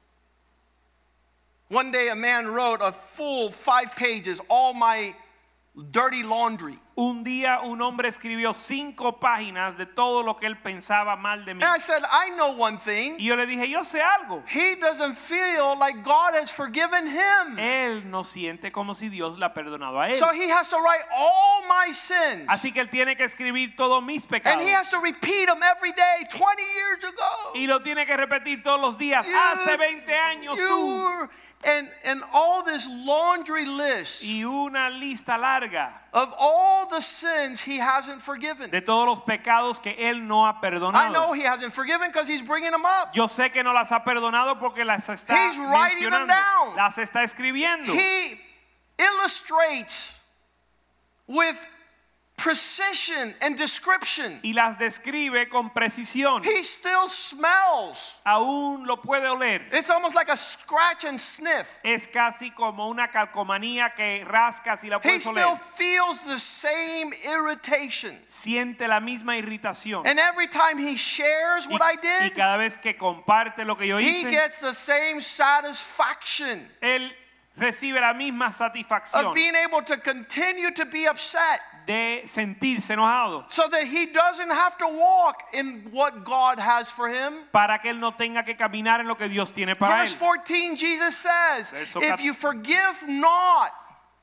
One day a man wrote a full 5 pages, all my dirty laundry. Un día un hombre escribió 5 páginas de todo lo que él pensaba mal de mí. And I said, I know one thing. Y yo le dije, yo sé algo. He doesn't feel like God has forgiven him. Él no siente como si Dios le ha perdonado a él. So he has to write all my sins. Así que él tiene que escribir todos mis And pecados. he has to repeat them every day 20 years ago. Y lo tiene que repetir todos los días. Hace 20 años tú. And all this laundry list Y una lista larga of all the sins he hasn't forgiven. de todos los pecados que él no ha I know perdonado. he hasn't forgiven because he's bringing them up. Yo sé que no las ha perdonado porque las está He's writing them mencionando. down. Las está escribiendo. He illustrates with precision and description. Y las describe con precisión. He still smells. Aún lo puede oler. It's almost like a scratch and sniff. Es casi como una calcomanía que rascas y la He puedes still oler. feels the same irritation. Siente la misma irritación. And every time he shares what I Y did, cada vez que comparte lo que yo he hice, gets the same satisfaction él recibe la misma satisfacción of being able to continue to be upset de sentirse enojado, so that he doesn't have to walk in what God has for him. para que él no tenga que caminar en lo que Dios tiene para Verse él. 14, Jesus says, Verso if you forgive not,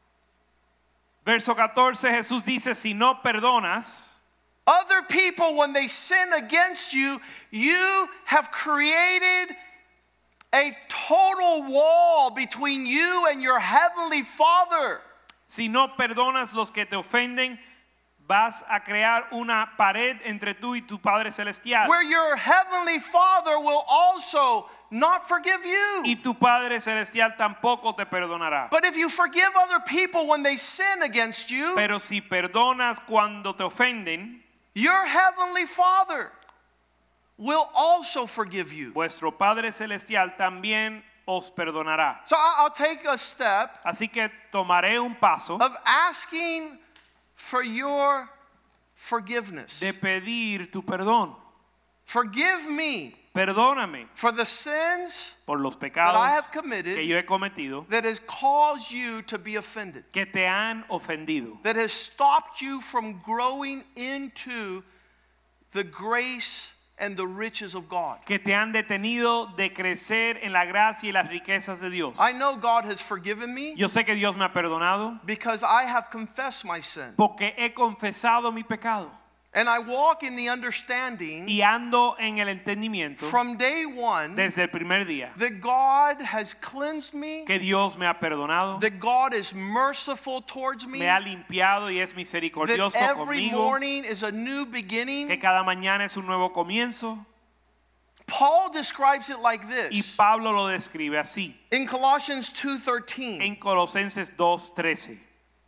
Verso 14, Jesús dice, si no perdonas other people when they sin against you, you have created a total wall between you and your heavenly Father. Si no perdonas los que te ofenden, vas a crear una pared entre tú y tu Padre Celestial. Where your heavenly Father will also not forgive you. Y tu Padre Celestial tampoco te perdonará. But if you forgive other people when they sin against you, Pero si perdonas cuando te ofenden, your heavenly Father will also forgive you. vuestro Padre Celestial también os perdonará. So I'll take a step Así que tomaré un paso of asking for your forgiveness. de pedir tu perdón. Forgive me Perdóname for the sins por los that I pecados have que committed yo he cometido, that has caused you to be offended, que te han ofendido, that has stopped you from growing into the grace and the riches of God. que te han detenido de crecer en la gracia y las riquezas de Dios. I know God has forgiven me Yo sé que Dios me ha perdonado because I have confessed my sin. porque he confesado mi pecado And I walk in the understanding y ando en el entendimiento from day one desde el primer día that God has cleansed me, que Dios me ha perdonado, that God is merciful towards me, me ha limpiado y es that misericordioso every conmigo, morning is a new que beginning. cada mañana es un nuevo comienzo. Paul describes it like Y this Pablo lo describe así in Colossians 2:13. en Colosenses 2:13.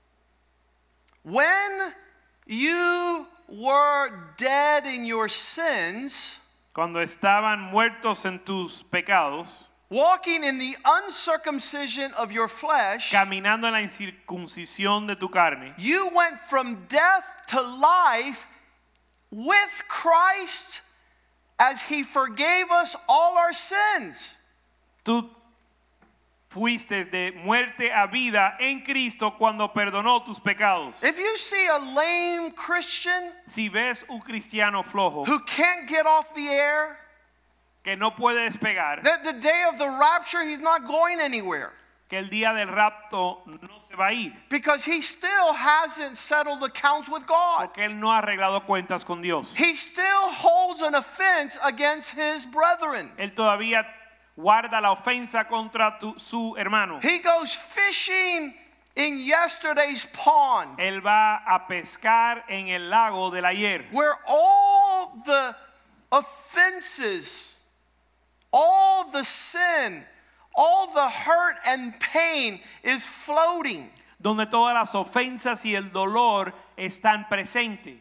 When you were dead in your sins, Cuando estaban muertos en tus pecados, walking in the uncircumcision of your flesh, caminando en la incircuncisión de tu carne, you went from death to life with Christ as he forgave us all our sins. tú fuiste de muerte a vida en Cristo cuando perdonó tus pecados. If you see a lame Christian Si ves un cristiano flojo who can't get off the air, que no puede despegar, that the day of the rapture he's not going anywhere que el día del rapto no se va a ir, because he still hasn't settled accounts with God. porque él no ha arreglado cuentas con Dios. He still holds an offense against his brethren. Él todavía guarda la ofensa contra su hermano. He goes fishing in yesterday's pond, Él va a pescar en el lago del ayer, where all the offenses, all the sin, all the hurt and pain is floating. donde todas las ofensas y el dolor están presentes.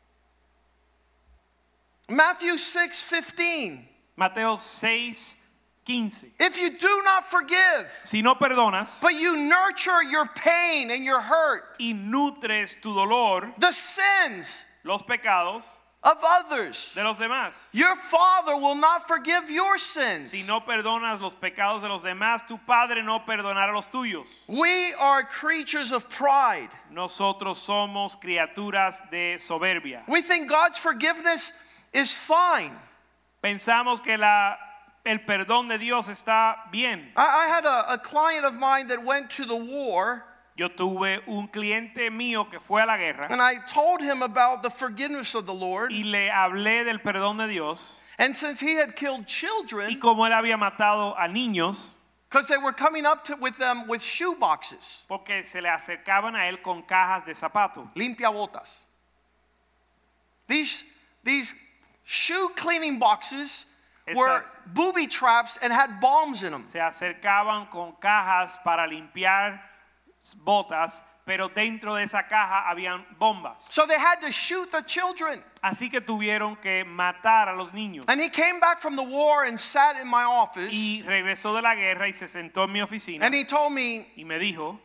Matthew 6:15. Mateo 6:15. If you do not forgive, Si no perdonas but you nurture your pain and your hurt, y nutres tu dolor, the sins los pecados of others, de los demás. your Father will not forgive your sins. Si no perdonas los pecados de los demás, tu Padre no perdonará los tuyos. We are creatures of pride. Nosotros somos criaturas de soberbia. We think God's forgiveness is fine. Pensamos que el perdón de Dios está bien. I had a client of mine that went to the war, Yo tuve un cliente mío que fue a la guerra and I told him about the forgiveness of the Lord. y le hablé del perdón de Dios. And since he had killed Y children, como él había matado a niños, because they were coming up with them with shoe boxes, porque se le acercaban a él con cajas de zapato. limpia botas. These shoe cleaning boxes were Estas- booby traps and had bombs in them. Se acercaban con cajas para limpiar botas, pero dentro de esa caja habían bombas. So they had to shoot the children. Así que tuvieron que matar a los niños. And he came back from the war and sat in my office, Y regresó de la guerra y se sentó en mi oficina and he told me, y me dijo,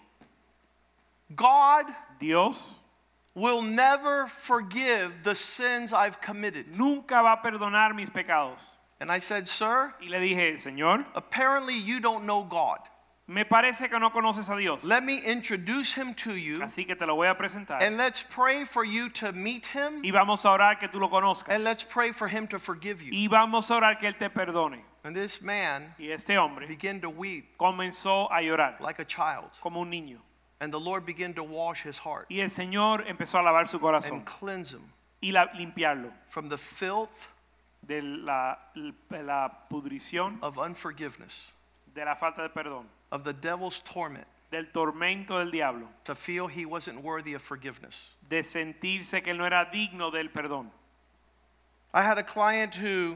God Dios will never forgive the sins I've committed. nunca va a perdonar mis pecados. And I said, sir, Y le dije, Señor, apparently you don't know God. me parece que no conoces a Dios. Let me introduce him to you, Así que te lo voy a presentar. and let's pray for you to meet him, Y vamos a orar que tú lo conozcas. and let's pray for him to forgive you. Y vamos a orar que Él te perdone. And this man Y este hombre began to weep comenzó a llorar like a child, como un niño. and the Lord began to wash his heart Y el Señor empezó a lavar su corazón and cleanse him y limpiarlo from the filth de la pudrición, of unforgiveness, de la falta de perdón, of the devil's torment, del tormento del diablo, to feel he wasn't worthy of forgiveness. de sentirse que él no era digno del perdón. I had a client who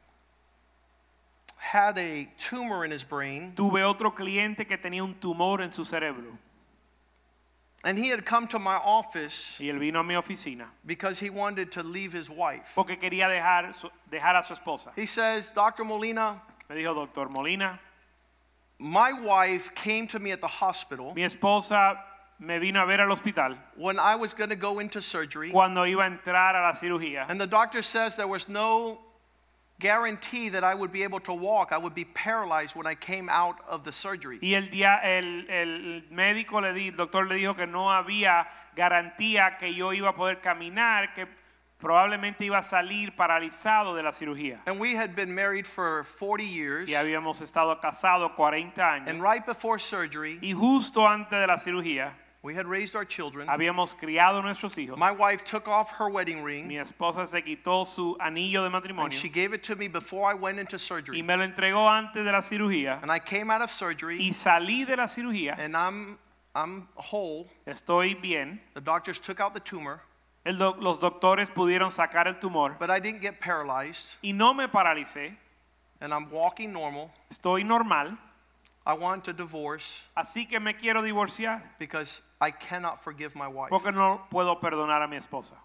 had a tumor in his brain, Tuve otro cliente que tenía un tumor en su cerebro and he had come to my office y él vino a mi oficina because he wanted to leave his wife. porque quería dejar a su esposa. He says, Dr. Molina, Me dijo, Doctor Molina, my wife came to me at the hospital mi esposa me vino a ver al hospital when I was going to go into surgery, cuando iba a entrar a la cirugía. and the doctor says there was no guarantee that I would be able to walk. I would be paralyzed when I came out of the surgery. Y el médico el doctor le dijo que no había garantía que yo iba a poder caminar, que probablemente iba a salir paralizado de la cirugía. And we had been married for 40 years, Y habíamos estado casados 40 años. and right before surgery, Y justo antes de la cirugía we had raised our children. habíamos criado nuestros hijos. My wife took off her wedding Mi ring, esposa se quitó su anillo de and matrimonio she gave it to me before I went into y surgery. me lo entregó antes de la cirugía. And I came out of surgery, Y salí de la cirugía. and I'm whole. Estoy bien. The doctors took out the tumor, Los doctores pudieron sacar el tumor but I didn't get paralyzed, y no me paralicé. and I'm walking normal. Estoy normal. I want a divorce Así que me quiero divorciar because I cannot forgive my wife. porque no puedo perdonar a mi esposa.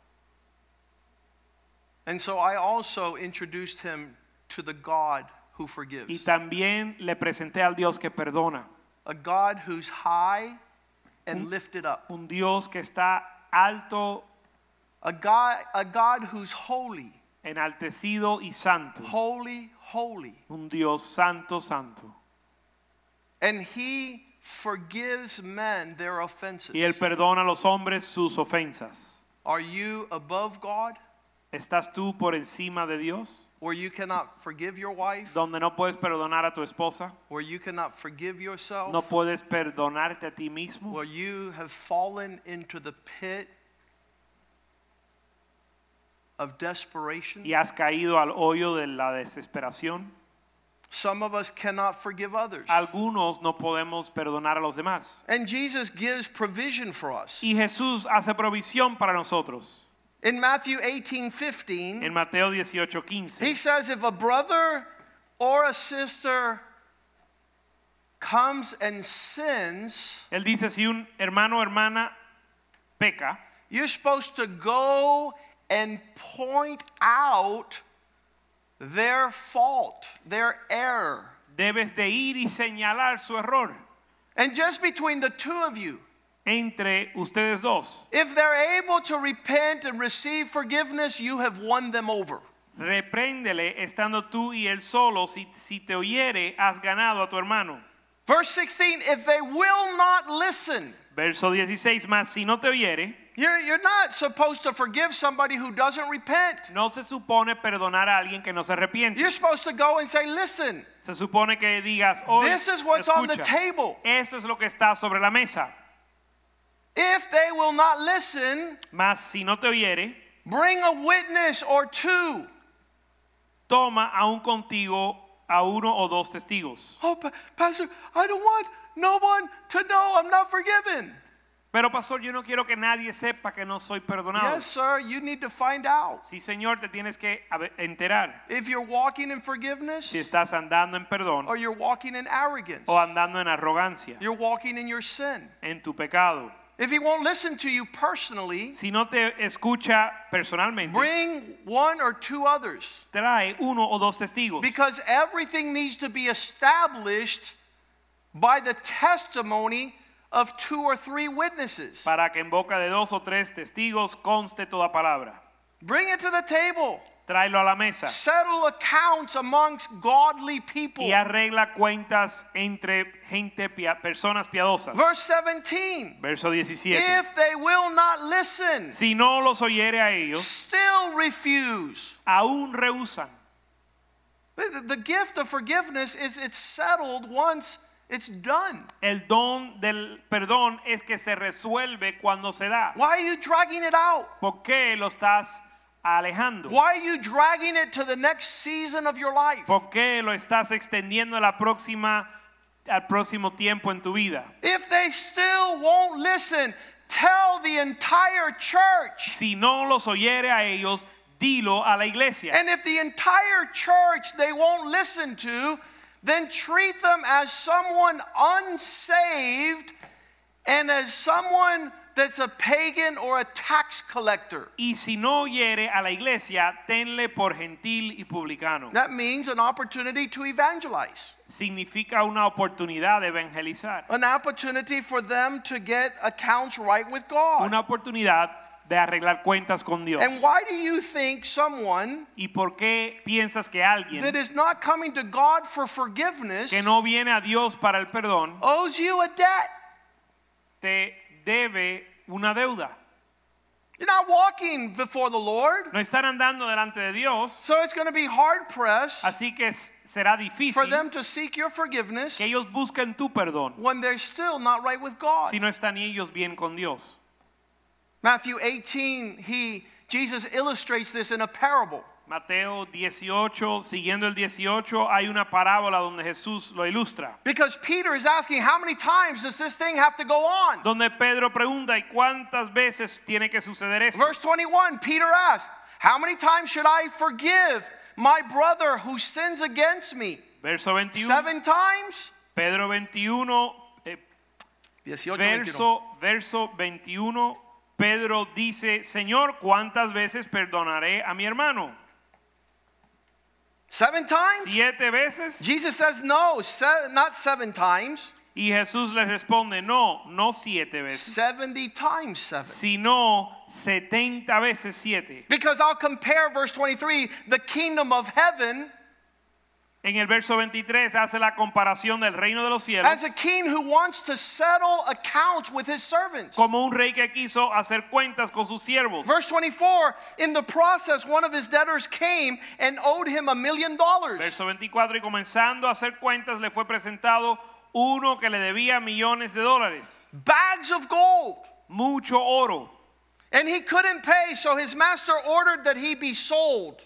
And so I also introduced him to the God who Y forgives. también le presenté al Dios que perdona, A God who's high and lifted up. un Dios que está alto, A God who's holy, enaltecido y santo, holy, holy. un Dios santo, santo. And he forgives men their offenses. Y él perdona a los hombres sus ofensas. Are you above God, ¿Estás tú por encima de Dios? where you cannot forgive your wife, Donde no puedes perdonar a tu esposa, where you cannot forgive yourself, no puedes perdonarte a ti mismo, where you have fallen into the pit of desperation? y has caído al hoyo de la desesperación. Some of us cannot forgive others. Algunos no podemos perdonar a los demás. And Jesus gives provision for us. Y Jesús hace provisión para nosotros. In Matthew 18:15, En Mateo 18:15, he says, if a brother or a sister comes and sins, él dice, si un hermano o hermana peca, you're supposed to go and point out their fault, their error. debes de ir y señalar su error And just between the two of you, entre ustedes dos. if they're able to repent and receive forgiveness, you have won them over. Repréndele estando tú y él solo. Si te oyere, has ganado a tu hermano. Verse 16, if they will not listen, Verso 16, más si no te oyere, you're not supposed to forgive somebody who doesn't repent. no se supone perdonar a alguien que no se arrepiente. You're supposed to go and say, listen, Se supone que digas, hoy, this is what's on the escucha, table. esto es lo que está sobre la mesa. If they will not listen, Mas si no te oyere, bring a witness or two. toma aún contigo a uno o dos testigos. Oh, Pastor, I don't want no one to know I'm not forgiven. Pero pastor, yo no quiero que nadie sepa que no soy perdonado. Yes, sir, you need to find out. Sí, Señor, te tienes que enterar If you're walking in forgiveness, si estás andando en perdón or you're walking in arrogance, o andando en arrogancia, you're walking in your sin. en tu pecado. If he won't listen to you personally, Si no te escucha personalmente, bring one or two others. trae uno o dos testigos. Because everything needs to be established by the testimony of two or three witnesses. Para que en boca de dos o tres testigos conste toda palabra. Bring it to the table. Tráelo a la mesa Settle accounts amongst godly people. y arregla cuentas entre personas piadosas. Verse 17. Verso 17. If they will not listen, Si no los oyere a ellos, still refuse. aún rehusan. The gift of forgiveness is it's settled once it's done. El don del perdón es que se resuelve cuando se da. Why are you dragging it out? ¿Por qué lo estás alejando? Why are you dragging it to the next season of your life? ¿Por qué lo estás extendiendo al próximo tiempo en tu vida? If they still won't listen, tell the entire church. Si no los oyere a ellos, dilo a la iglesia. And if the entire church they won't listen to, then treat them as someone unsaved and as someone that's a pagan or a tax collector. Y si no oyere a la iglesia, tenle por gentil y publicano. That means an opportunity to evangelize. Significa una oportunidad de evangelizar. An opportunity for them to get accounts right with God. Una oportunidad de arreglar cuentas con Dios. And why do you think someone ¿Y por qué piensas que alguien that is not coming to God for forgiveness que no viene a Dios para el perdón owes you a debt? te debe una deuda? You're not walking before the Lord. No están andando delante de Dios, So it's going to be hard pressed así que será for difícil them to seek your forgiveness que ellos busquen tu perdón when they're still not right with God. si no están ellos bien con Dios. Matthew 18, Jesus illustrates this in a parable. Mateo 18, siguiendo el 18, hay una parábola donde Jesús lo ilustra. Because Peter is asking, how many times does this thing have to go on? Donde Pedro pregunta, ¿y cuántas veces tiene que suceder esto? Verse 21, Peter asked, how many times should I forgive my brother who sins against me? Verso 21. 7 times? Pedro 21, 18, verso 21, Pedro dice, Señor, ¿cuántas veces perdonaré a mi hermano? 7 times? 7 veces. Jesus says, no, not 7 times. Y Jesús le responde, no 7 veces, 70 times 7. sino 70 veces 7. Because I'll compare verse 23, the kingdom of heaven, En el verso 23 hace la comparación del reino de los cielos as a king who wants to settle accounts with his servants. como un rey que quiso hacer cuentas con sus siervos. Verse 24, in the process, one of his debtors came and owed him $1 million. Verso 24, y comenzando a hacer cuentas le fue presentado uno que le debía millones de dólares, Bags of gold. mucho oro. And he couldn't pay, so his master ordered that he be sold.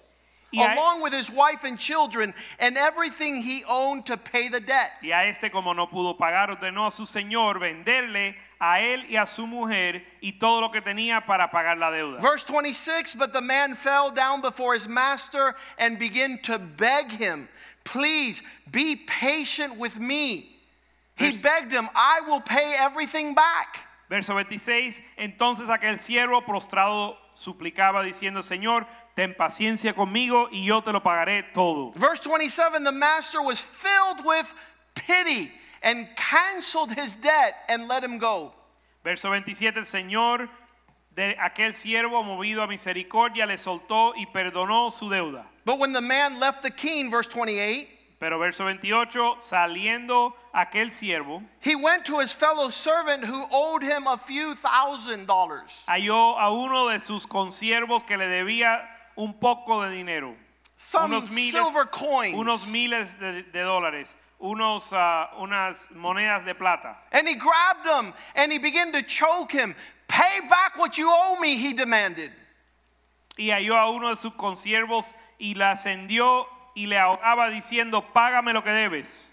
along with his wife and children and everything he owned to pay the debt. Y a este, como no pudo pagar, ordenó a su señor venderle a él y a su mujer y todo lo que tenía para pagar la deuda. Verse 26, but the man fell down before his master and began to beg him, please be patient with me. He begged him, I will pay everything back. Verso 26, entonces aquel siervo prostrado suplicaba diciendo, Señor, ten paciencia conmigo y yo te lo pagaré todo. Verse 27, the master was filled with pity and canceled his debt and let him go. Verso 27, el Señor de aquel siervo movido a misericordia le soltó y perdonó su deuda. But when the man left the king, verse 28, Pero verso 28, saliendo aquel siervo, he went to his fellow servant who owed him a few $1,000s. halló a uno de sus consiervos que le debía un poco de dinero, Some silver coins. unos miles de dólares, unas monedas de plata. And he grabbed him and he began to choke him. Pay back what you owe me, he demanded. Y halló a uno de sus consiervos y la ascendió y le ahogaba diciendo, págame lo que debes.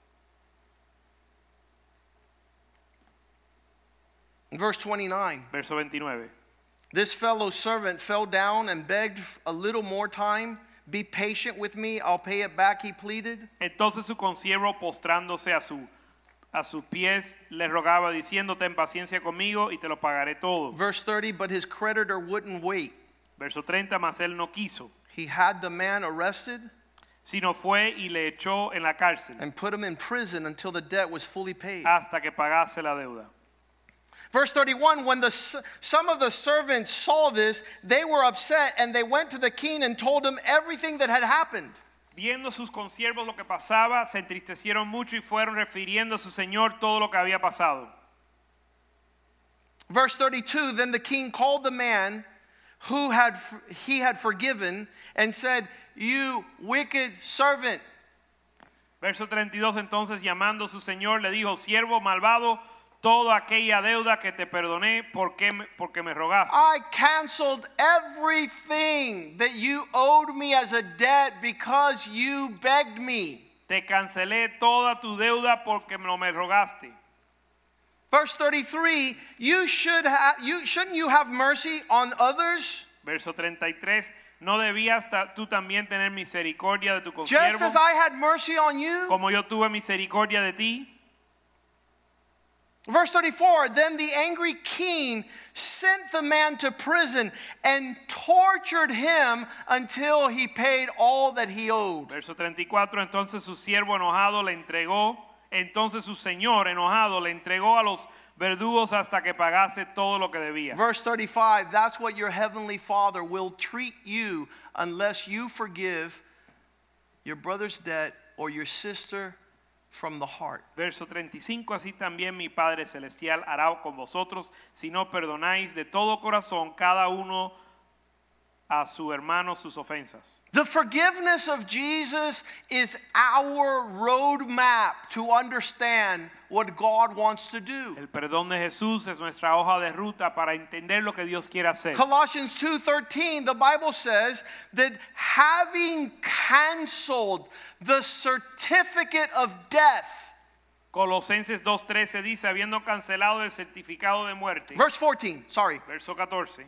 Verse 29. Verso 29. This fellow servant fell down and begged a little more time. Be patient with me, I'll pay it back, he pleaded. Entonces su consiervo postrándose a sus pies le rogaba diciendo, ten paciencia conmigo y te lo pagaré todo. Verse 30, but his creditor wouldn't wait. Verso 30, mas él no quiso, He had the man arrested sino fue y le echó en la cárcel and put him in prison until the debt was fully paid. hasta que pagase la deuda. Verse 31, when some of the servants saw this, they were upset and they went to the king and told him everything that had happened. Viendo sus consiervos lo que pasaba, se entristecieron mucho y fueron refiriendo a su señor todo lo que había pasado. Verse 32, then the king called the man who he had forgiven and said, you wicked servant. Verso 32, entonces llamando a su señor le dijo, siervo malvado, toda aquella deuda que te perdoné, porque me rogaste. I canceled everything that you owed me as a debt because you begged me. Te cancelé toda tu deuda porque me rogaste. Verse 33, shouldn't you have mercy on others? Verso 33, ¿no debías tú también tener misericordia de tu Just consiervo, as I had mercy on you? como yo tuve misericordia de ti? Verse 34, then the angry king sent the man to prison and tortured him until he paid all that he owed. Verso 34, entonces su siervo enojado le entregó, entonces su señor enojado le entregó a los verdugos hasta que pagase todo lo que debía. Verse 35, that's what your heavenly Father will treat you unless you forgive your brother's debt or your sister from the heart. Verso 35, así también mi Padre Celestial hará con vosotros si no perdonáis de todo corazón cada uno a su hermano sus ofensas. The forgiveness of Jesus is our roadmap to understand what God wants to do. El perdón de Jesús es nuestra hoja de ruta para entender lo que Dios quiere hacer. Colossians 2:13, the Bible says that having canceled the certificate of death. Colosenses 2:13 dice, habiendo cancelado el certificado de muerte. Verse 14, sorry. Verso 14.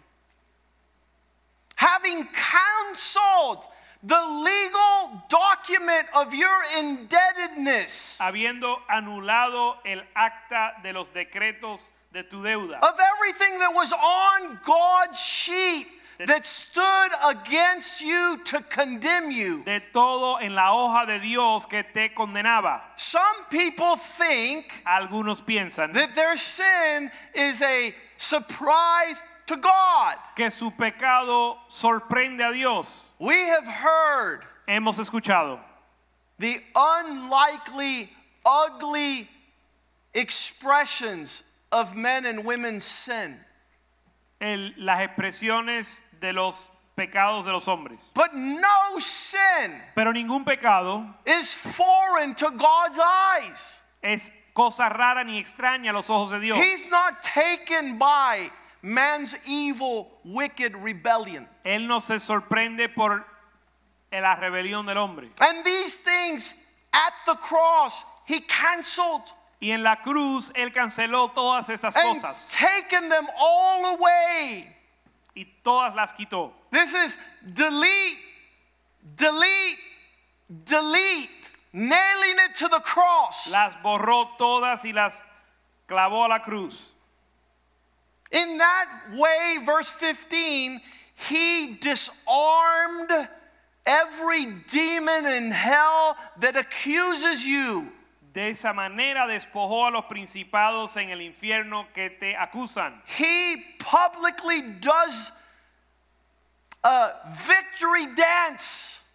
Having canceled the legal document of your indebtedness, Habiendo anulado el acta de los decretos de tu deuda, of everything that was on God's sheet that stood against you to condemn you. de todo en la hoja de Dios que te condenaba. Some people think Algunos piensan that their sin is a surprise to God. que su pecado sorprende a Dios. We have heard Hemos escuchado the unlikely, ugly expressions of men and women's sin. las expresiones de los pecados de los hombres. But no sin Pero ningún pecado is foreign to God's eyes. es cosa rara ni extraña a los ojos de Dios. He's not taken by man's evil, wicked rebellion. Él no se sorprende por en la rebelión del hombre. And these things at the cross, he canceled Y en la cruz Él canceló todas estas and cosas taken them all away. y todas las quitó. This is delete, delete, delete, nailing it to the cross. Las borró todas y las clavó a la cruz. In that way, verse 15, he disarmed every demon in hell that accuses you. De esa manera despojó a los principados en el infierno que te acusan. He publicly does a victory dance,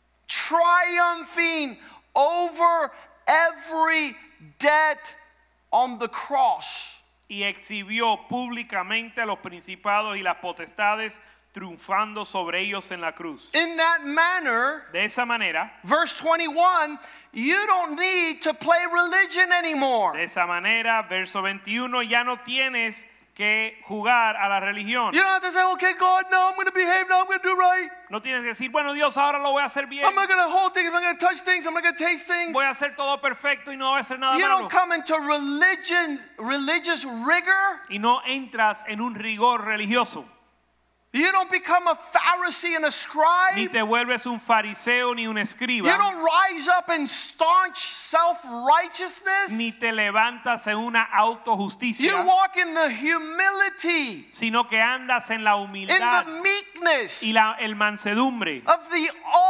triumphing over every debt on the cross. Y exhibió públicamente a los principados y las potestades, triunfando sobre ellos en la cruz. In that manner, De esa manera, verse 21, you don't need to play religion anymore. de esa manera, verso 21, ya no tienes que jugar a la religión. You don't have to say, okay, God, no, I'm going to behave, no, I'm going to do right. No tienes que decir, bueno, Dios, ahora lo voy a hacer bien. I'm not going to hold things, I'm not going to touch things, I'm not going to taste things. Voy a hacer todo perfecto y no voy a hacer nada You malo. don't come into religious rigor. Y no entras en un rigor religioso. You don't become a Pharisee and a Ni scribe. te vuelves un fariseo ni un You escriba. don't rise up in staunch self-righteousness. Ni te levantas en una autojusticia. You walk in the humility, Sino que andas en la in humildad the meekness y el mansedumbre of the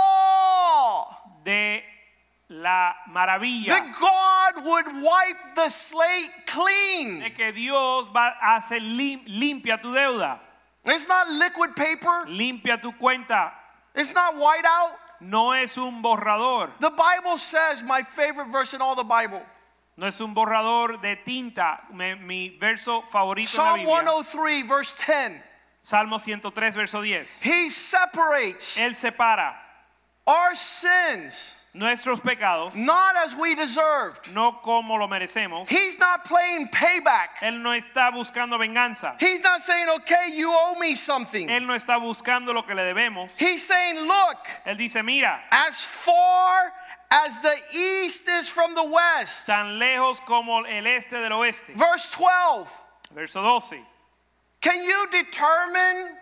awe de la maravilla that God would wipe the slate clean. de que Dios va a hacer limpia tu deuda, It's not liquid paper. limpia tu cuenta. It's not white out. No es un borrador, The Bible says, my favorite verse in all the Bible, no es un borrador de tinta. Mi verso favorito Psalm en la Biblia, 103, verse 10. Salmo 103, verso 10. He separates Él separa our sins, nuestros pecados, not as we deserved. no como lo merecemos. He's not playing payback. Él no está buscando venganza. He's not saying, okay, you owe me something. Él no está buscando lo que le debemos. He's saying, look, Él dice, mira, as far as the east is from the west. tan lejos como el este del oeste. Verse 12. Verso 12. Can you determine,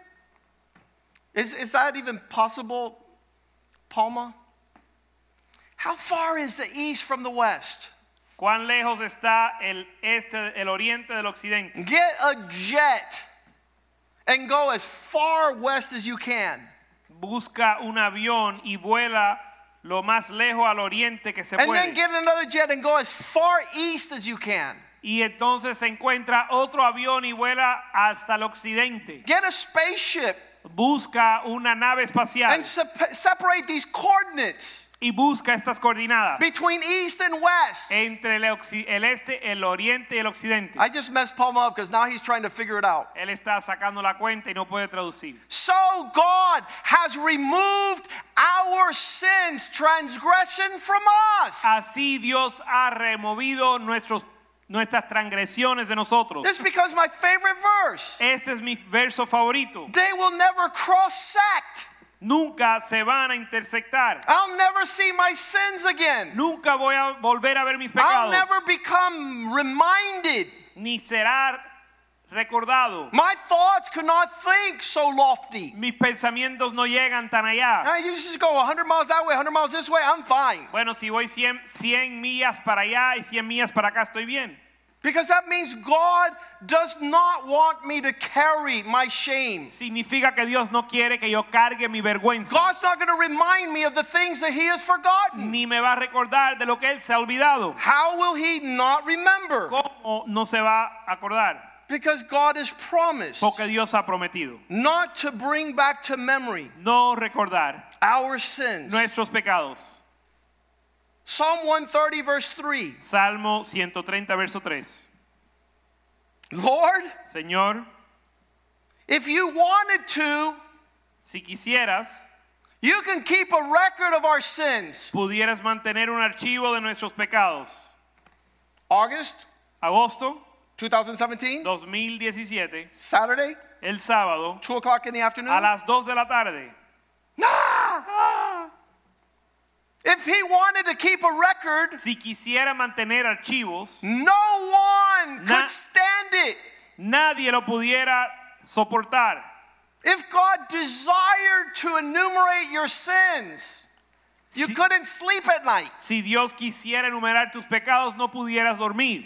is that even possible, Palma? How far is the east from the west? ¿Cuán lejos está el este, el oriente del occidente? Get a jet and go as far west as you can. Busca un avión y vuela lo más lejos al oriente que se And then puede. get another jet and go as far east as you can. Y entonces se encuentra otro avión y vuela hasta el occidente. Get a spaceship Busca una nave espacial and separate these coordinates y busca estas coordenadas between east and west. entre el este, el oriente y el occidente. I just messed Palma up because now he's trying to figure it out. Él está sacando la cuenta y no puede traducir. So God has removed our sins, transgression from us. Así Dios ha removido nuestras transgresiones de nosotros. This becomes my favorite verse. Este es mi verso favorito. They will never cross-sect. Nunca se van a intersectar. I'll never see my sins again. Nunca voy a volver a ver mis I'll pecados. never become reminded. Ni será recordado. My thoughts could not think so lofty. Mis pensamientos no llegan tan allá. You just go 100 miles that way, 100 miles this way, I'm fine. Bueno, si voy 100 millas para allá y 100 millas para acá, estoy bien. Because that means God does not want me to carry my shame. Significa que Dios no quiere que yo cargue mi vergüenza. God's not going to remind me of the things that He has forgotten. Ni me va a recordar de lo que Él se ha olvidado. How will He not remember? ¿Cómo no se va a acordar? Because God has promised Porque Dios ha prometido not to bring back to memory no recordar our sins. nuestros pecados. Psalm 130 verse 3. Salmo 130 verso 3. Lord, Señor, if you wanted to, si quisieras, you can keep a record of our sins. pudieras mantener un archivo de nuestros pecados. August Agosto 2017, 2017, Saturday, el sábado, 2 o'clock in the afternoon. a las 2 de la tarde. Ah! If he wanted to keep a record, Si quisiera mantener archivos, no one Na- could stand it. nadie lo pudiera soportar. If God desired to enumerate your sins, you Si- couldn't sleep at night. Si Dios quisiera enumerar tus pecados, no pudieras dormir.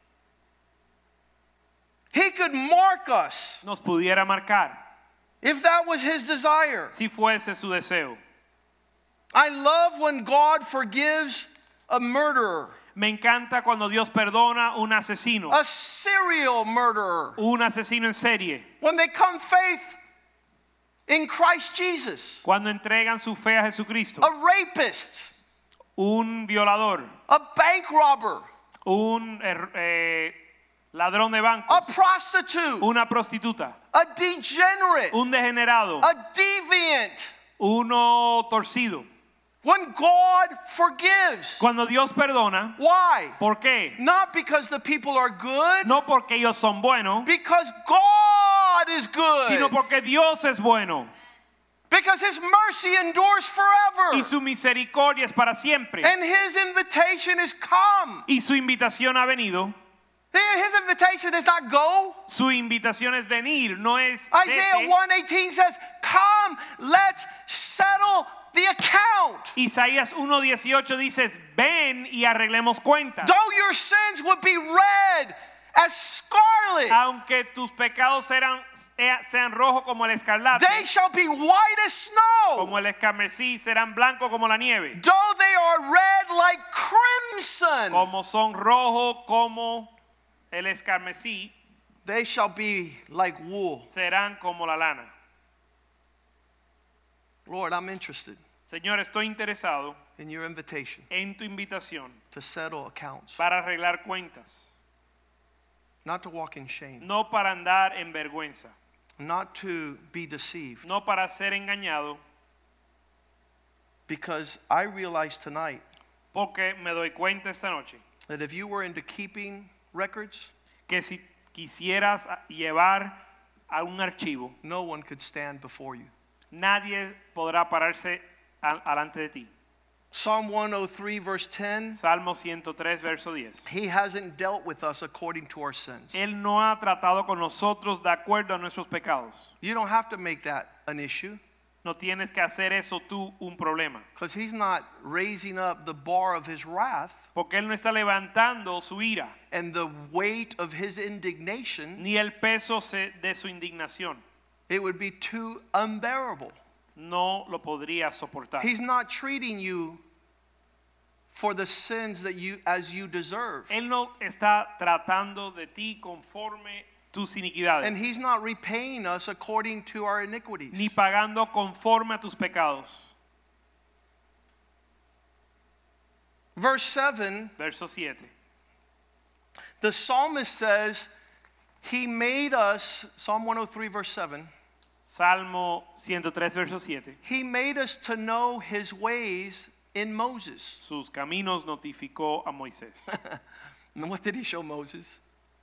He could mark us Nos pudiera marcar, if that was his desire. si fuese su deseo. I love when God forgives a murderer, Me encanta cuando Dios perdona un asesino, a serial murderer, un asesino en serie, when they come faith in Christ Jesus, cuando entregan su fe a Jesucristo, a rapist, un violador, a bank robber, un ladrón de a bancos, prostitute, una prostituta, a degenerate, un degenerado, a deviant. uno torcido. When God forgives, Cuando Dios perdona, why? ¿por qué? Not because the people are good, No porque ellos son buenos, because God is sino good, porque Dios es bueno because his mercy endures forever, y su misericordia es para siempre. and his invitation is come. Y su invitación ha venido. His invitation is not go. Su invitación es venir, no es Isaiah vete. 1:18 says, come, let's settle the account. Isaías 1:18 dice, ven y arreglemos cuentas. Though your sins would be red as scarlet, Aunque tus pecados sean rojos como el escarlate, they shall be white as snow. como el escarmesí, serán blancos como la nieve. Though they are red like crimson, Como son rojos como el escarmesí, they shall be like wool. serán como la lana. Lord, I'm interested Señor, estoy interesado in your invitation en tu invitación to settle accounts, para arreglar cuentas, not to walk in shame, no para andar en vergüenza, not to be deceived, no para ser engañado, because I realize tonight porque me doy cuenta esta noche that if you were into keeping records, que si quisieras llevar a un archivo, no one could stand before you. nadie podrá pararse alante de ti. Psalm 103 verse 10, Salmo 103, verso 10. he hasn't dealt with us according to our sins. Él no ha tratado con nosotros de acuerdo a nuestros pecados. You don't have to make that an issue, No tienes que hacer eso tú un problema, because he's not raising up the bar of his wrath porque Él no está levantando su ira, and the weight of his indignation. ni el peso de su indignación. It would be too unbearable. No lo podría soportar. He's not treating you for the sins that you as you deserve. Él no está tratando de ti conforme tus iniquidades, And he's not repaying us according to our iniquities. ni pagando conforme a tus pecados. Verse 7, Verso 7. the psalmist says, he made us, Psalm 103 verse 7, Salmo 103, verso 7. he made us to know his ways in Moses. Sus caminos notificó a Moisés. And what did he show Moses?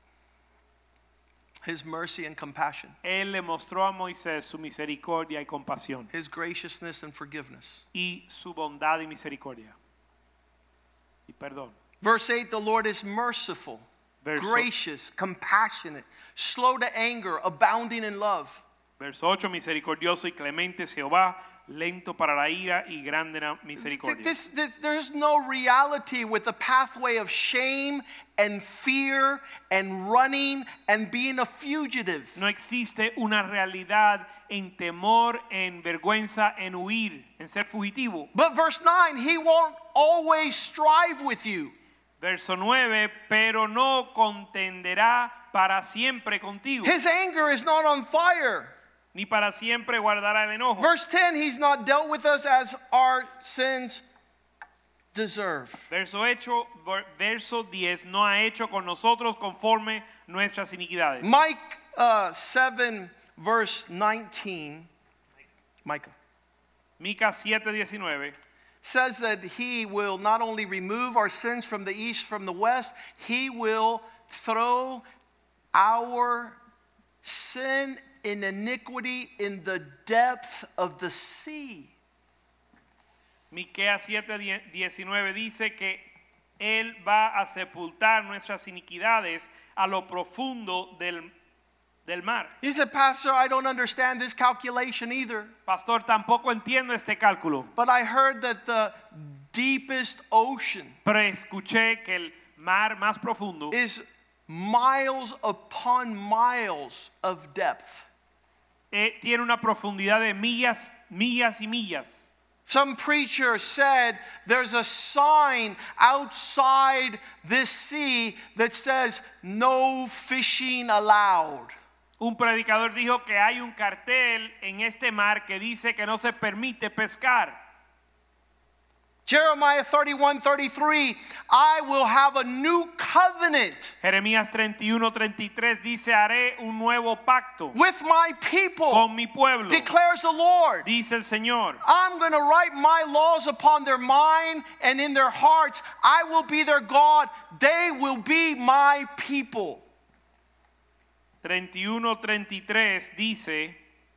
His mercy and compassion, Él le mostró a Moisés su misericordia y compasión, his graciousness and forgiveness. y su bondad y misericordia. Y perdón. Verse 8, the Lord is merciful, Verso, gracious, compassionate, slow to anger, abounding in love. verso 8, misericordioso y clemente Jehová, lento para la ira y grande en misericordia. There's no reality with the pathway of shame and fear and running and being a fugitive. No existe una realidad en temor, en vergüenza, en huir, en ser fugitivo. But verse 9, he won't always strive with you. Verso 9, pero no contenderá para siempre contigo, His anger is not on fire. ni para siempre guardará el enojo. Verse 10, he's not dealt with us as our sins deserve. Verso 10 no ha hecho con nosotros conforme nuestras iniquidades. Micah 7 verse 19, Micah, Mica 7:19 says that he will not only remove our sins from the east, from the west, he will throw our sin in iniquity in the depth of the sea. Miqueas 7:19 dice que él va a sepultar nuestras iniquidades a lo profundo del mar. He said, Pastor, I don't understand this calculation either. Pastor, tampoco entiendo este cálculo. But I heard that the deepest ocean Pero escuché que el mar más profundo is miles upon miles of depth. Tiene una profundidad de millas, millas y millas. Some preacher said there's a sign outside this sea that says no fishing allowed. Un predicador dijo que hay un cartel en este mar que dice que no se permite pescar. Jeremiah 31:33, I will have a new covenant Jeremías 31:33 dice, haré un nuevo pacto with my people, con mi pueblo, declares the Lord. dice el Señor. I'm going to write my laws upon their mind and in their hearts. I will be their God. They will be my people. 31:33 dice,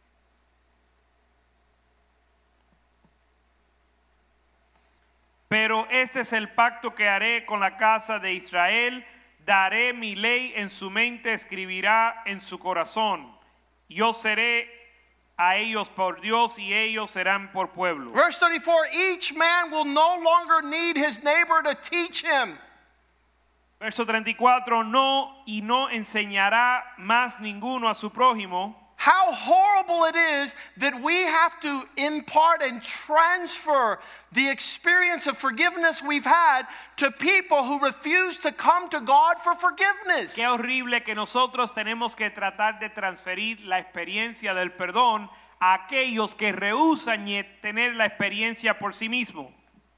pero este es el pacto que haré con la casa de Israel, daré mi ley en su mente, escribirá en su corazón. Yo seré a ellos por Dios y ellos serán por pueblo. Verse 34, each man will no longer need his neighbor to teach him. Verso 34, no enseñará más ninguno a su prójimo. How horrible it is that we have to impart and transfer the experience of forgiveness we've had to people who refuse to come to God for forgiveness. Qué horrible que nosotros tenemos que tratar de transferir la experiencia del perdón a aquellos que rehúsan tener la experiencia por sí mismos.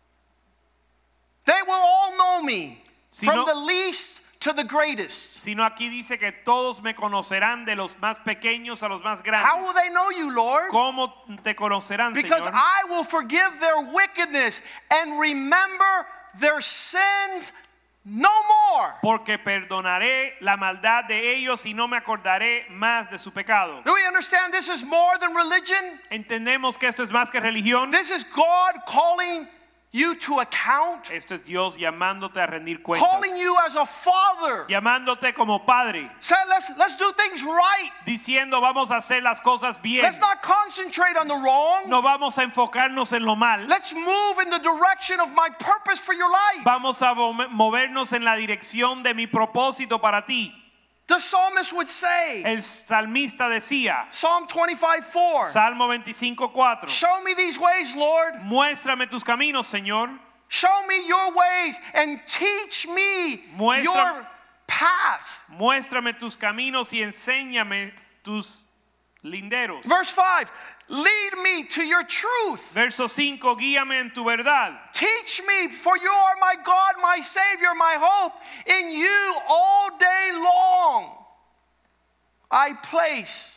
They will all know me from no- the least to the greatest. Sino aquí dice que todos me conocerán, de los más pequeños a los más grandes. How will they know you, Lord? ¿Cómo te conocerán, Because Señor? I will forgive their wickedness and remember their sins no more. Porque perdonaré la maldad de ellos y no me acordaré más de su pecado. Do we understand this is more than religion? ¿Entendemos que esto es más que religión? This is God calling you to account, Esto es Dios llamándote a rendir cuentas. calling you as a father. Llamándote como padre. Say, let's do things right. Diciendo vamos a hacer las cosas bien. Let's not concentrate on the wrong. No vamos a enfocarnos en lo mal. Let's move in the direction of my purpose for your life. Vamos a movernos en la dirección de mi propósito para ti. The psalmist would say, El salmista decía, Psalm 25:4, Salmo 25:4, show me these ways, Lord. muéstrame tus caminos, Señor. Show me your ways and teach me your path. Muéstrame tus caminos y enséñame tus linderos. Verse 5, lead me to your truth. Verso 5, guíame en tu verdad. Teach me, for you are my God, my Savior, my hope. In you all day long I place.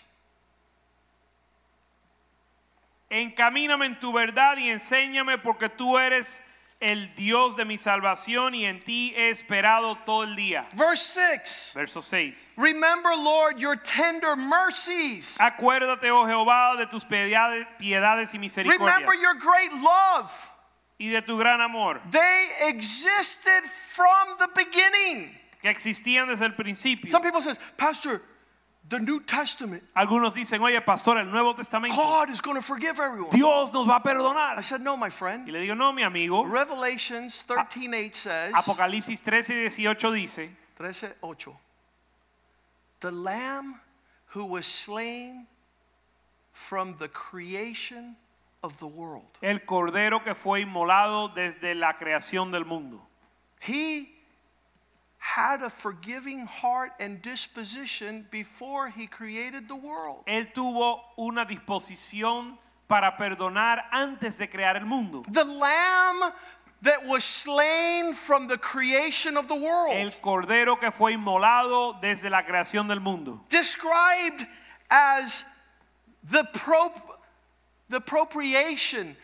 Encamíname en tu verdad y enséñame, porque tú eres el Dios de mi salvación y en ti he esperado todo el día. Verse 6, Verso 6. remember, Lord, your tender mercies. Acuérdate, oh Jehová, de tus piedades y misericordias Remember your great love. y de tu gran amor, They existed from the beginning. que existían desde el principio. Some people say, Pastor, the New Testament, Algunos dicen, oye, pastor, el Nuevo Testamento, God is going to forgive everyone. Dios nos va a I perdonar. said, no, my Y friend. le digo, no, mi amigo. Revelations 13:8 says, Apocalipsis 13:18 dice, 13:8, the Lamb who was slain from the creation of the world. el cordero que fue inmolado desde la creación del mundo. He had a forgiving heart and disposition before he created the world. Él tuvo una disposición para perdonar antes de crear el mundo. The Lamb that was slain from the creation of the world. El cordero que fue inmolado desde la creación del mundo. Described as the propitiation,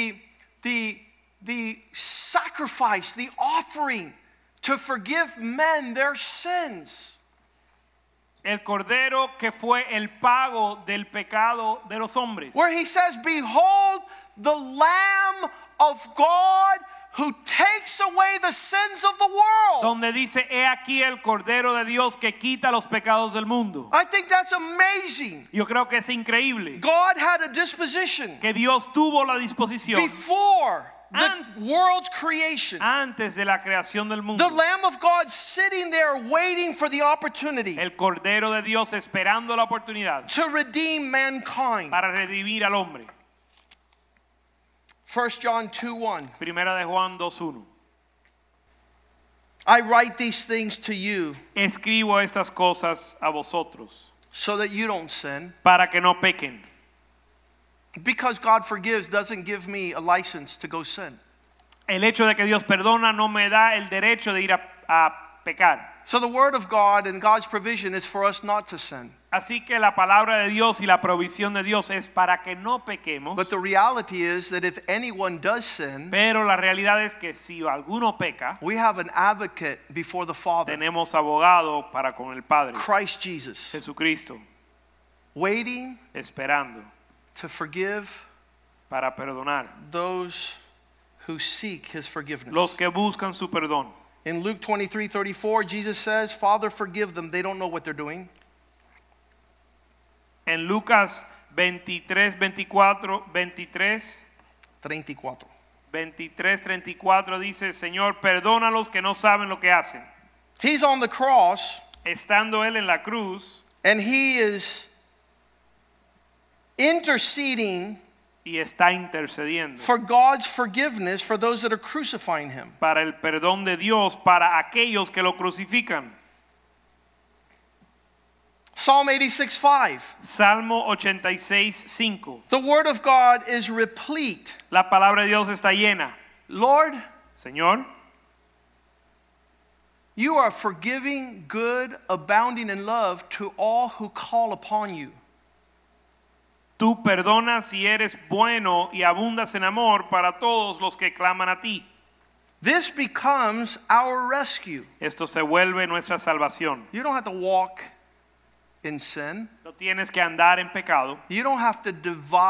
the sacrifice, the offering to forgive men their sins. El cordero que fue el pago del pecado de los hombres. Where he says, behold the Lamb of God who takes away the sins of the world. donde dice, he aquí el Cordero de Dios que quita los pecados del mundo. I think that's amazing. Yo creo que es increíble God had a disposition que Dios tuvo la disposición before the world's creation. antes de la creación del mundo. The Lamb of God sitting there waiting for the opportunity El Cordero de Dios esperando la oportunidad to redeem mankind. para redimir al hombre. 1 John 2:1. Primera de Juan 2:1. I write these things to you Escribo estas cosas a vosotros so that you don't sin. para que no pequen. Because God forgives doesn't give me a license to go sin. El hecho de que Dios perdona no me da el derecho de ir a pecar. So the word of God and God's provision is for us not to sin. Así que la palabra de Dios y la provisión de Dios es para que no pequemos. But the reality is that if anyone does sin, Pero la realidad es que si alguno peca, we have an advocate before the Father, tenemos abogado para con el Padre, Christ Jesus, Jesucristo, waiting esperando to forgive para perdonar those who seek his forgiveness. los que buscan su perdón. In Luke 23:34, Jesus says, Father, forgive them. They don't know what they're doing. En Lucas 23, 34 dice, Señor, perdónalos que no saben lo que hacen. He's on the cross Estando él en la cruz and he is interceding y está intercediendo for God's forgiveness for those that are crucifying him. para el perdón de Dios para aquellos que lo crucifican. Psalm 86:5. Salmo 86:5. The word of God is replete. La palabra de Dios está llena. Lord, Señor, you are forgiving, good, abounding in love to all who call upon you. tú perdonas y eres bueno y abundas en amor para todos los que claman a ti. This becomes our rescue. Esto se vuelve nuestra salvación. You don't have to walk in sin. No tienes que andar en pecado. You don't have to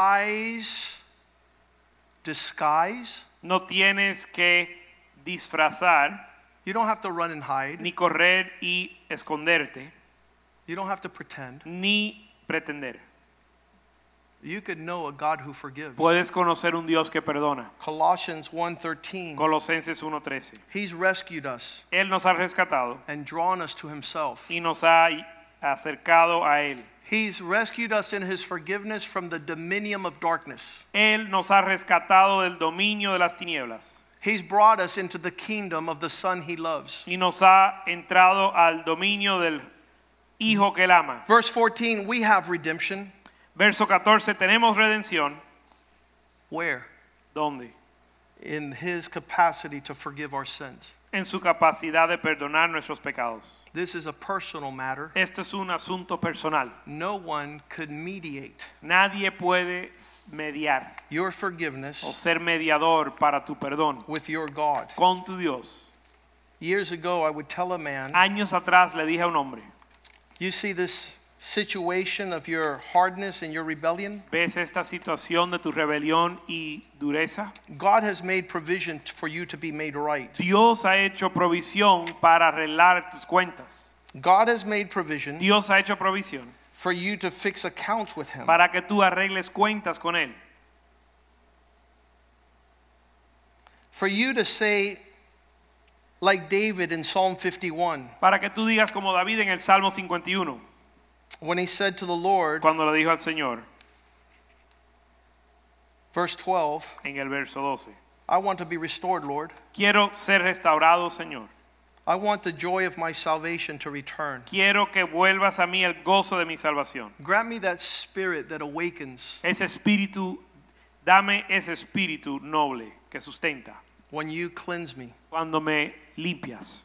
disguise. No tienes que disfrazar You don't have to run and hide. ni correr y esconderte You don't have to pretend. ni pretender. You could know a God who forgives. Puedes conocer un Dios que perdona. Colossians 1:13. Colosenses 1:13. He's rescued us Él nos ha rescatado and drawn us to himself. y nos ha acercado a él. He's rescued us in his forgiveness from the dominion of darkness. Él nos ha rescatado del dominio de las tinieblas He's brought us into the kingdom of the Son he loves. y nos ha entrado al dominio del Hijo que él ama. Verse 14, we have redemption. Verso 14, tenemos redención. Where? ¿Dónde? In his capacity to forgive our sins. En su capacidad de perdonar nuestros pecados. This is a personal matter. Esto es un asunto personal. No one could mediate Nadie puede mediar your forgiveness o ser mediador para tu perdón with your God. con tu Dios. Years ago, I would tell a man, Años atrás le dije a un hombre, you see this situation of your hardness and your rebellion? ¿ves esta situación de tu rebelión y dureza? God has made provision for you to be made right. Dios ha hecho provisión para arreglar tus cuentas. God has made provision Dios ha hecho provisión for you to fix accounts with him. para que tú arregles cuentas con él. For you to say, like David in Psalm 51, Para que tú digas como David en el Salmo 51, when he said to the Lord, cuando le dijo al Señor, verse 12, en el verso 12, I want to be restored, Lord. quiero ser restaurado, Señor. I want the joy of my salvation to return. Quiero que vuelvas a mí el gozo de mi salvación. Grant me that spirit that awakens Ese espíritu, dame ese espíritu noble que sustenta when you cleanse me. cuando me limpias.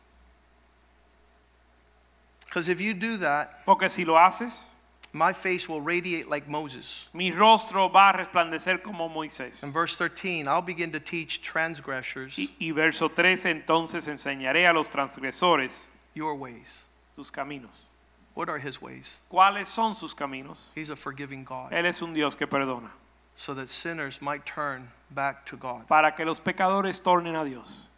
Because if you do that, Porque si lo haces, my face will radiate like Moses. mi rostro va a resplandecer como Moisés. In verse 13, I'll begin to teach transgressors Y verso 13, entonces enseñaré a los transgresores your ways. sus caminos. What are his ways? ¿Cuáles son sus caminos? He's a forgiving God. Él es un Dios que perdona. so that sinners might turn back to God. para que los pecadores tornen a Dios.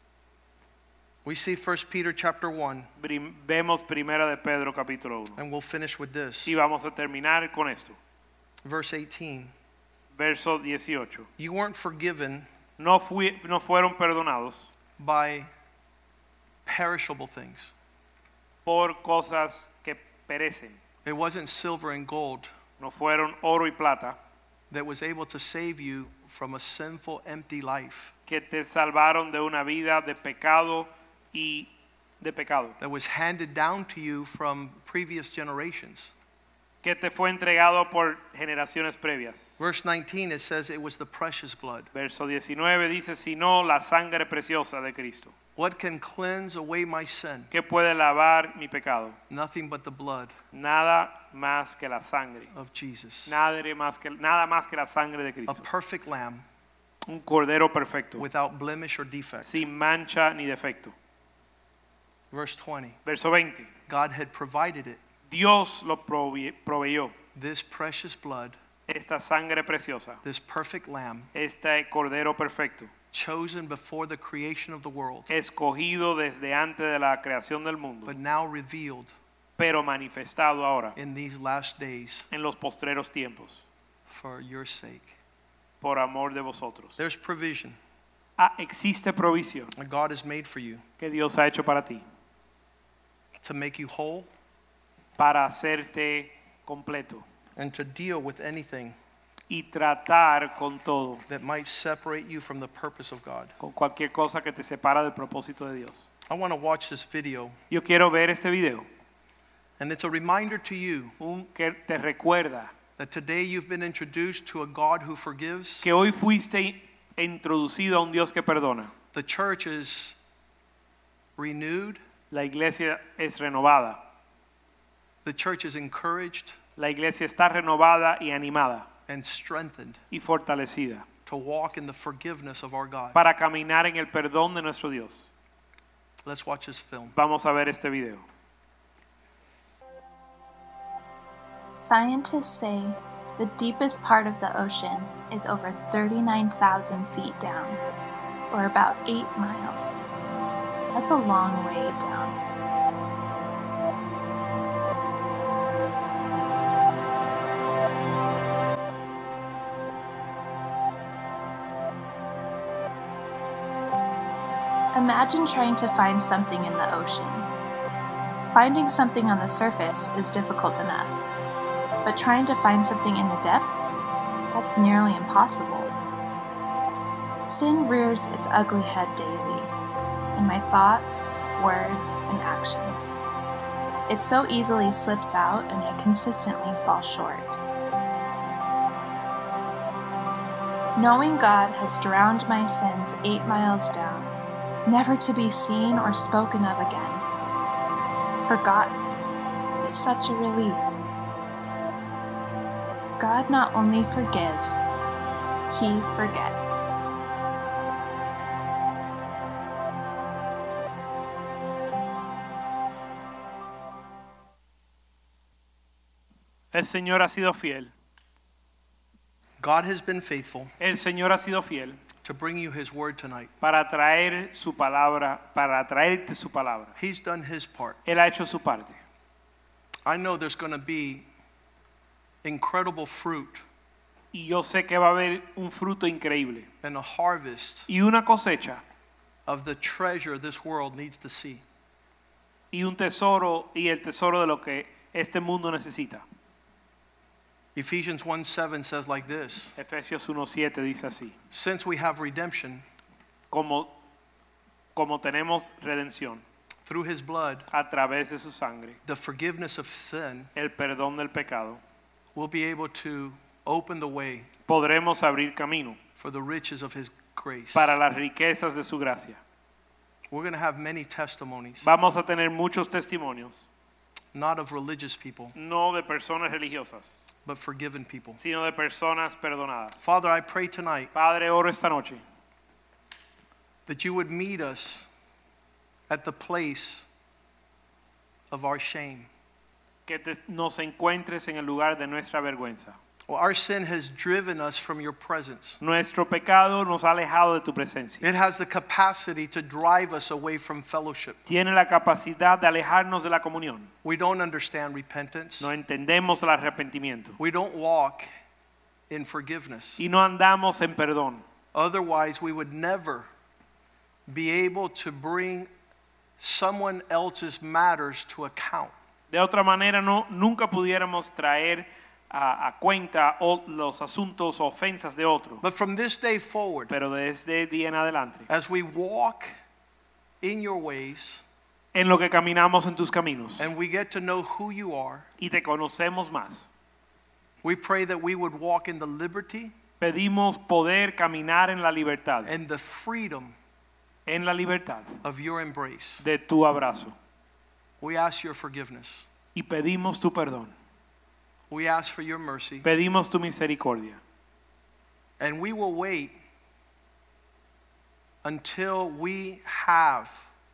We see 1 Peter chapter 1, Vemos Primera de Pedro capítulo 1. and we'll finish with this. Y vamos a terminar con esto. Verse 18. Verso 18. You weren't forgiven No fueron perdonados by perishable things. por cosas que perecen. It wasn't silver and gold No fueron oro y plata that was able to save you from a sinful, empty life que te salvaron de una vida de pecado y de pecado. that was handed down to you from previous generations. Que te fue entregado por generaciones previas. Verse 19, it says it was the precious blood. Verso 19 dice, sino la sangre preciosa de Cristo. What can cleanse away my sin? ¿Qué puede lavar mi pecado? Nothing but the blood Nada más que la sangre. of Jesus. Nada más que la sangre de A Cristo. perfect lamb Un cordero perfecto, without blemish or defect. sin mancha ni defecto. Verse 20, Verso 20. God had provided it. Dios lo proveyó. This precious blood, Esta sangre preciosa, this perfect lamb, este cordero perfecto, chosen before the creation of the world, escogido desde antes de la creación del mundo, but now revealed pero manifestado ahora in these last days en los postreros tiempos, for your sake. por amor de vosotros. There's provision Existe provisión that God has made for you que Dios ha hecho para ti, to make you whole para hacerte completo and to deal with anything y tratar con todo, that might separate you from the purpose of God. con cualquier cosa que te separa del propósito de Dios. I want to watch this video, Yo quiero ver este video, and it's a reminder to you que te recuerda that today you've been introduced to a God who forgives. que hoy fuiste introducido a un Dios que perdona. The church is renewed. La iglesia es renovada. The church is encouraged La iglesia está renovada y animada and strengthened y fortalecida to walk in the forgiveness of our God. para caminar en el perdón de nuestro Dios. Let's watch this film. Vamos a ver este video. Scientists say the deepest part of the ocean is over 39,000 feet down, or about 8 miles. That's a long way down. Imagine trying to find something in the ocean. Finding something on the surface is difficult enough, but trying to find something in the depths, that's nearly impossible. Sin rears its ugly head daily, in my thoughts, words, and actions. It so easily slips out and I consistently fall short. Knowing God has drowned my sins 8 miles down, never to be seen or spoken of again, forgotten, is such a relief. God not only forgives, He forgets. El Señor ha sido fiel. God has been faithful El Señor ha sido fiel to bring you His word tonight. para traer su palabra, para traerte su palabra. He's done His part. Él ha hecho su parte. I know there's going to be incredible fruit Y yo sé que va a haber un fruto increíble and a harvest y una cosecha of the treasure this world needs to see. y un tesoro y el tesoro de lo que este mundo necesita. Ephesians 1:7 says like this, Efesios 1:7 dice así: since we have redemption como tenemos redención through His blood, a través de su sangre, the forgiveness of sin, el perdón del pecado, we'll be able to open the way podremos abrir camino for the riches of His grace. para las riquezas de su gracia. We're going to have many testimonies, Vamos a tener muchos testimonios, not of religious people, no de personas religiosas, but forgiven people. sino de personas perdonadas. Father, I pray tonight Padre, oro esta noche that you would meet us at the place of our shame. que nos encuentres en el lugar de nuestra vergüenza. Well, our sin has driven us from your presence. Nuestro pecado nos ha alejado de tu presencia. It has the capacity to drive us away from fellowship. Tiene la capacidad de alejarnos de la comunión. We don't understand repentance. No entendemos el arrepentimiento. We don't walk in forgiveness. Y no andamos en perdón. Otherwise, we would never be able to bring someone else's matters to account. De otra manera, nunca pudiéramos traer a cuenta los asuntos o ofensas de otro. But from this day forward, Pero desde el día en adelante, as we walk in your ways en lo que caminamos en tus caminos and we get to know who you are, y te conocemos más, we pray that we would walk in the liberty pedimos poder caminar en la libertad, and the freedom en la libertad of your embrace. de tu abrazo. We ask your forgiveness. Y pedimos tu perdón, We ask for your mercy. pedimos tu misericordia. And we will wait until we have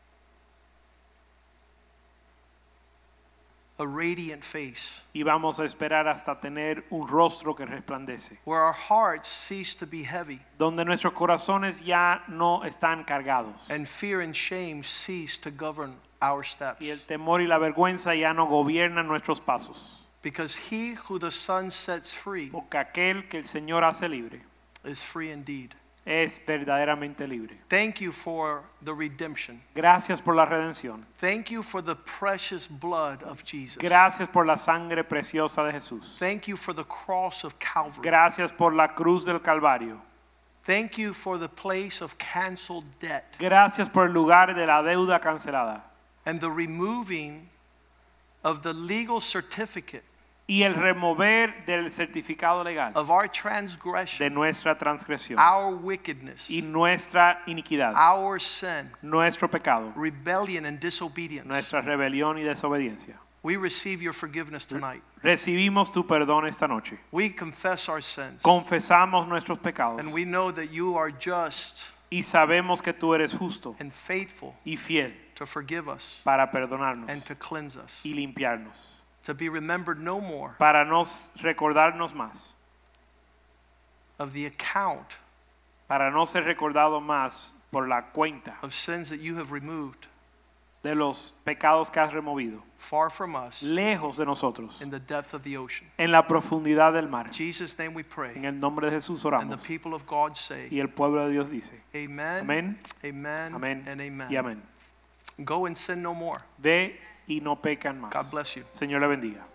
a radiant face, Y vamos a esperar hasta tener un rostro que resplandece, where our hearts cease to be heavy donde nuestros corazones ya no están cargados and fear and shame cease to govern our steps. y el temor y la vergüenza ya no gobiernan nuestros pasos. Because he who the Son sets free Porque aquel que el Señor hace libre is free indeed. es verdaderamente libre. Thank you for the redemption. Gracias por la redención. Thank you for the precious blood of Jesus. Gracias por la sangre preciosa de Jesús. Thank you for the cross of Calvary. Gracias por la cruz del Calvario. Thank you for the place of canceled debt Gracias por el lugar de la deuda cancelada and the removing of the legal certificate y el remover del certificado legal of our de transgression, nuestra transgresión our wickedness, y nuestra iniquidad, our sin, nuestro pecado, rebellion and disobedience. nuestra rebelión y desobediencia. We receive your forgiveness tonight. Recibimos tu perdón esta noche. We confess our sins. Confesamos nuestros pecados And we know that you are just y sabemos que tú eres justo and faithful y fiel to forgive us para perdonarnos and to cleanse us, y limpiarnos, to be remembered no more para recordarnos más, of the account para no ser recordado más por la cuenta of sins that you have removed de los pecados que has removido, far from us lejos de nosotros, in the depth of the ocean. en la profundidad del mar. In Jesus' name we En pray. el nombre de Jesús And the oramos. people of God say, Y el pueblo de Dios dice, Amen, amén, amen, amén and amen. y amén. Go and sin no more. Ve y no pecan más. God bless you. Señor le bendiga.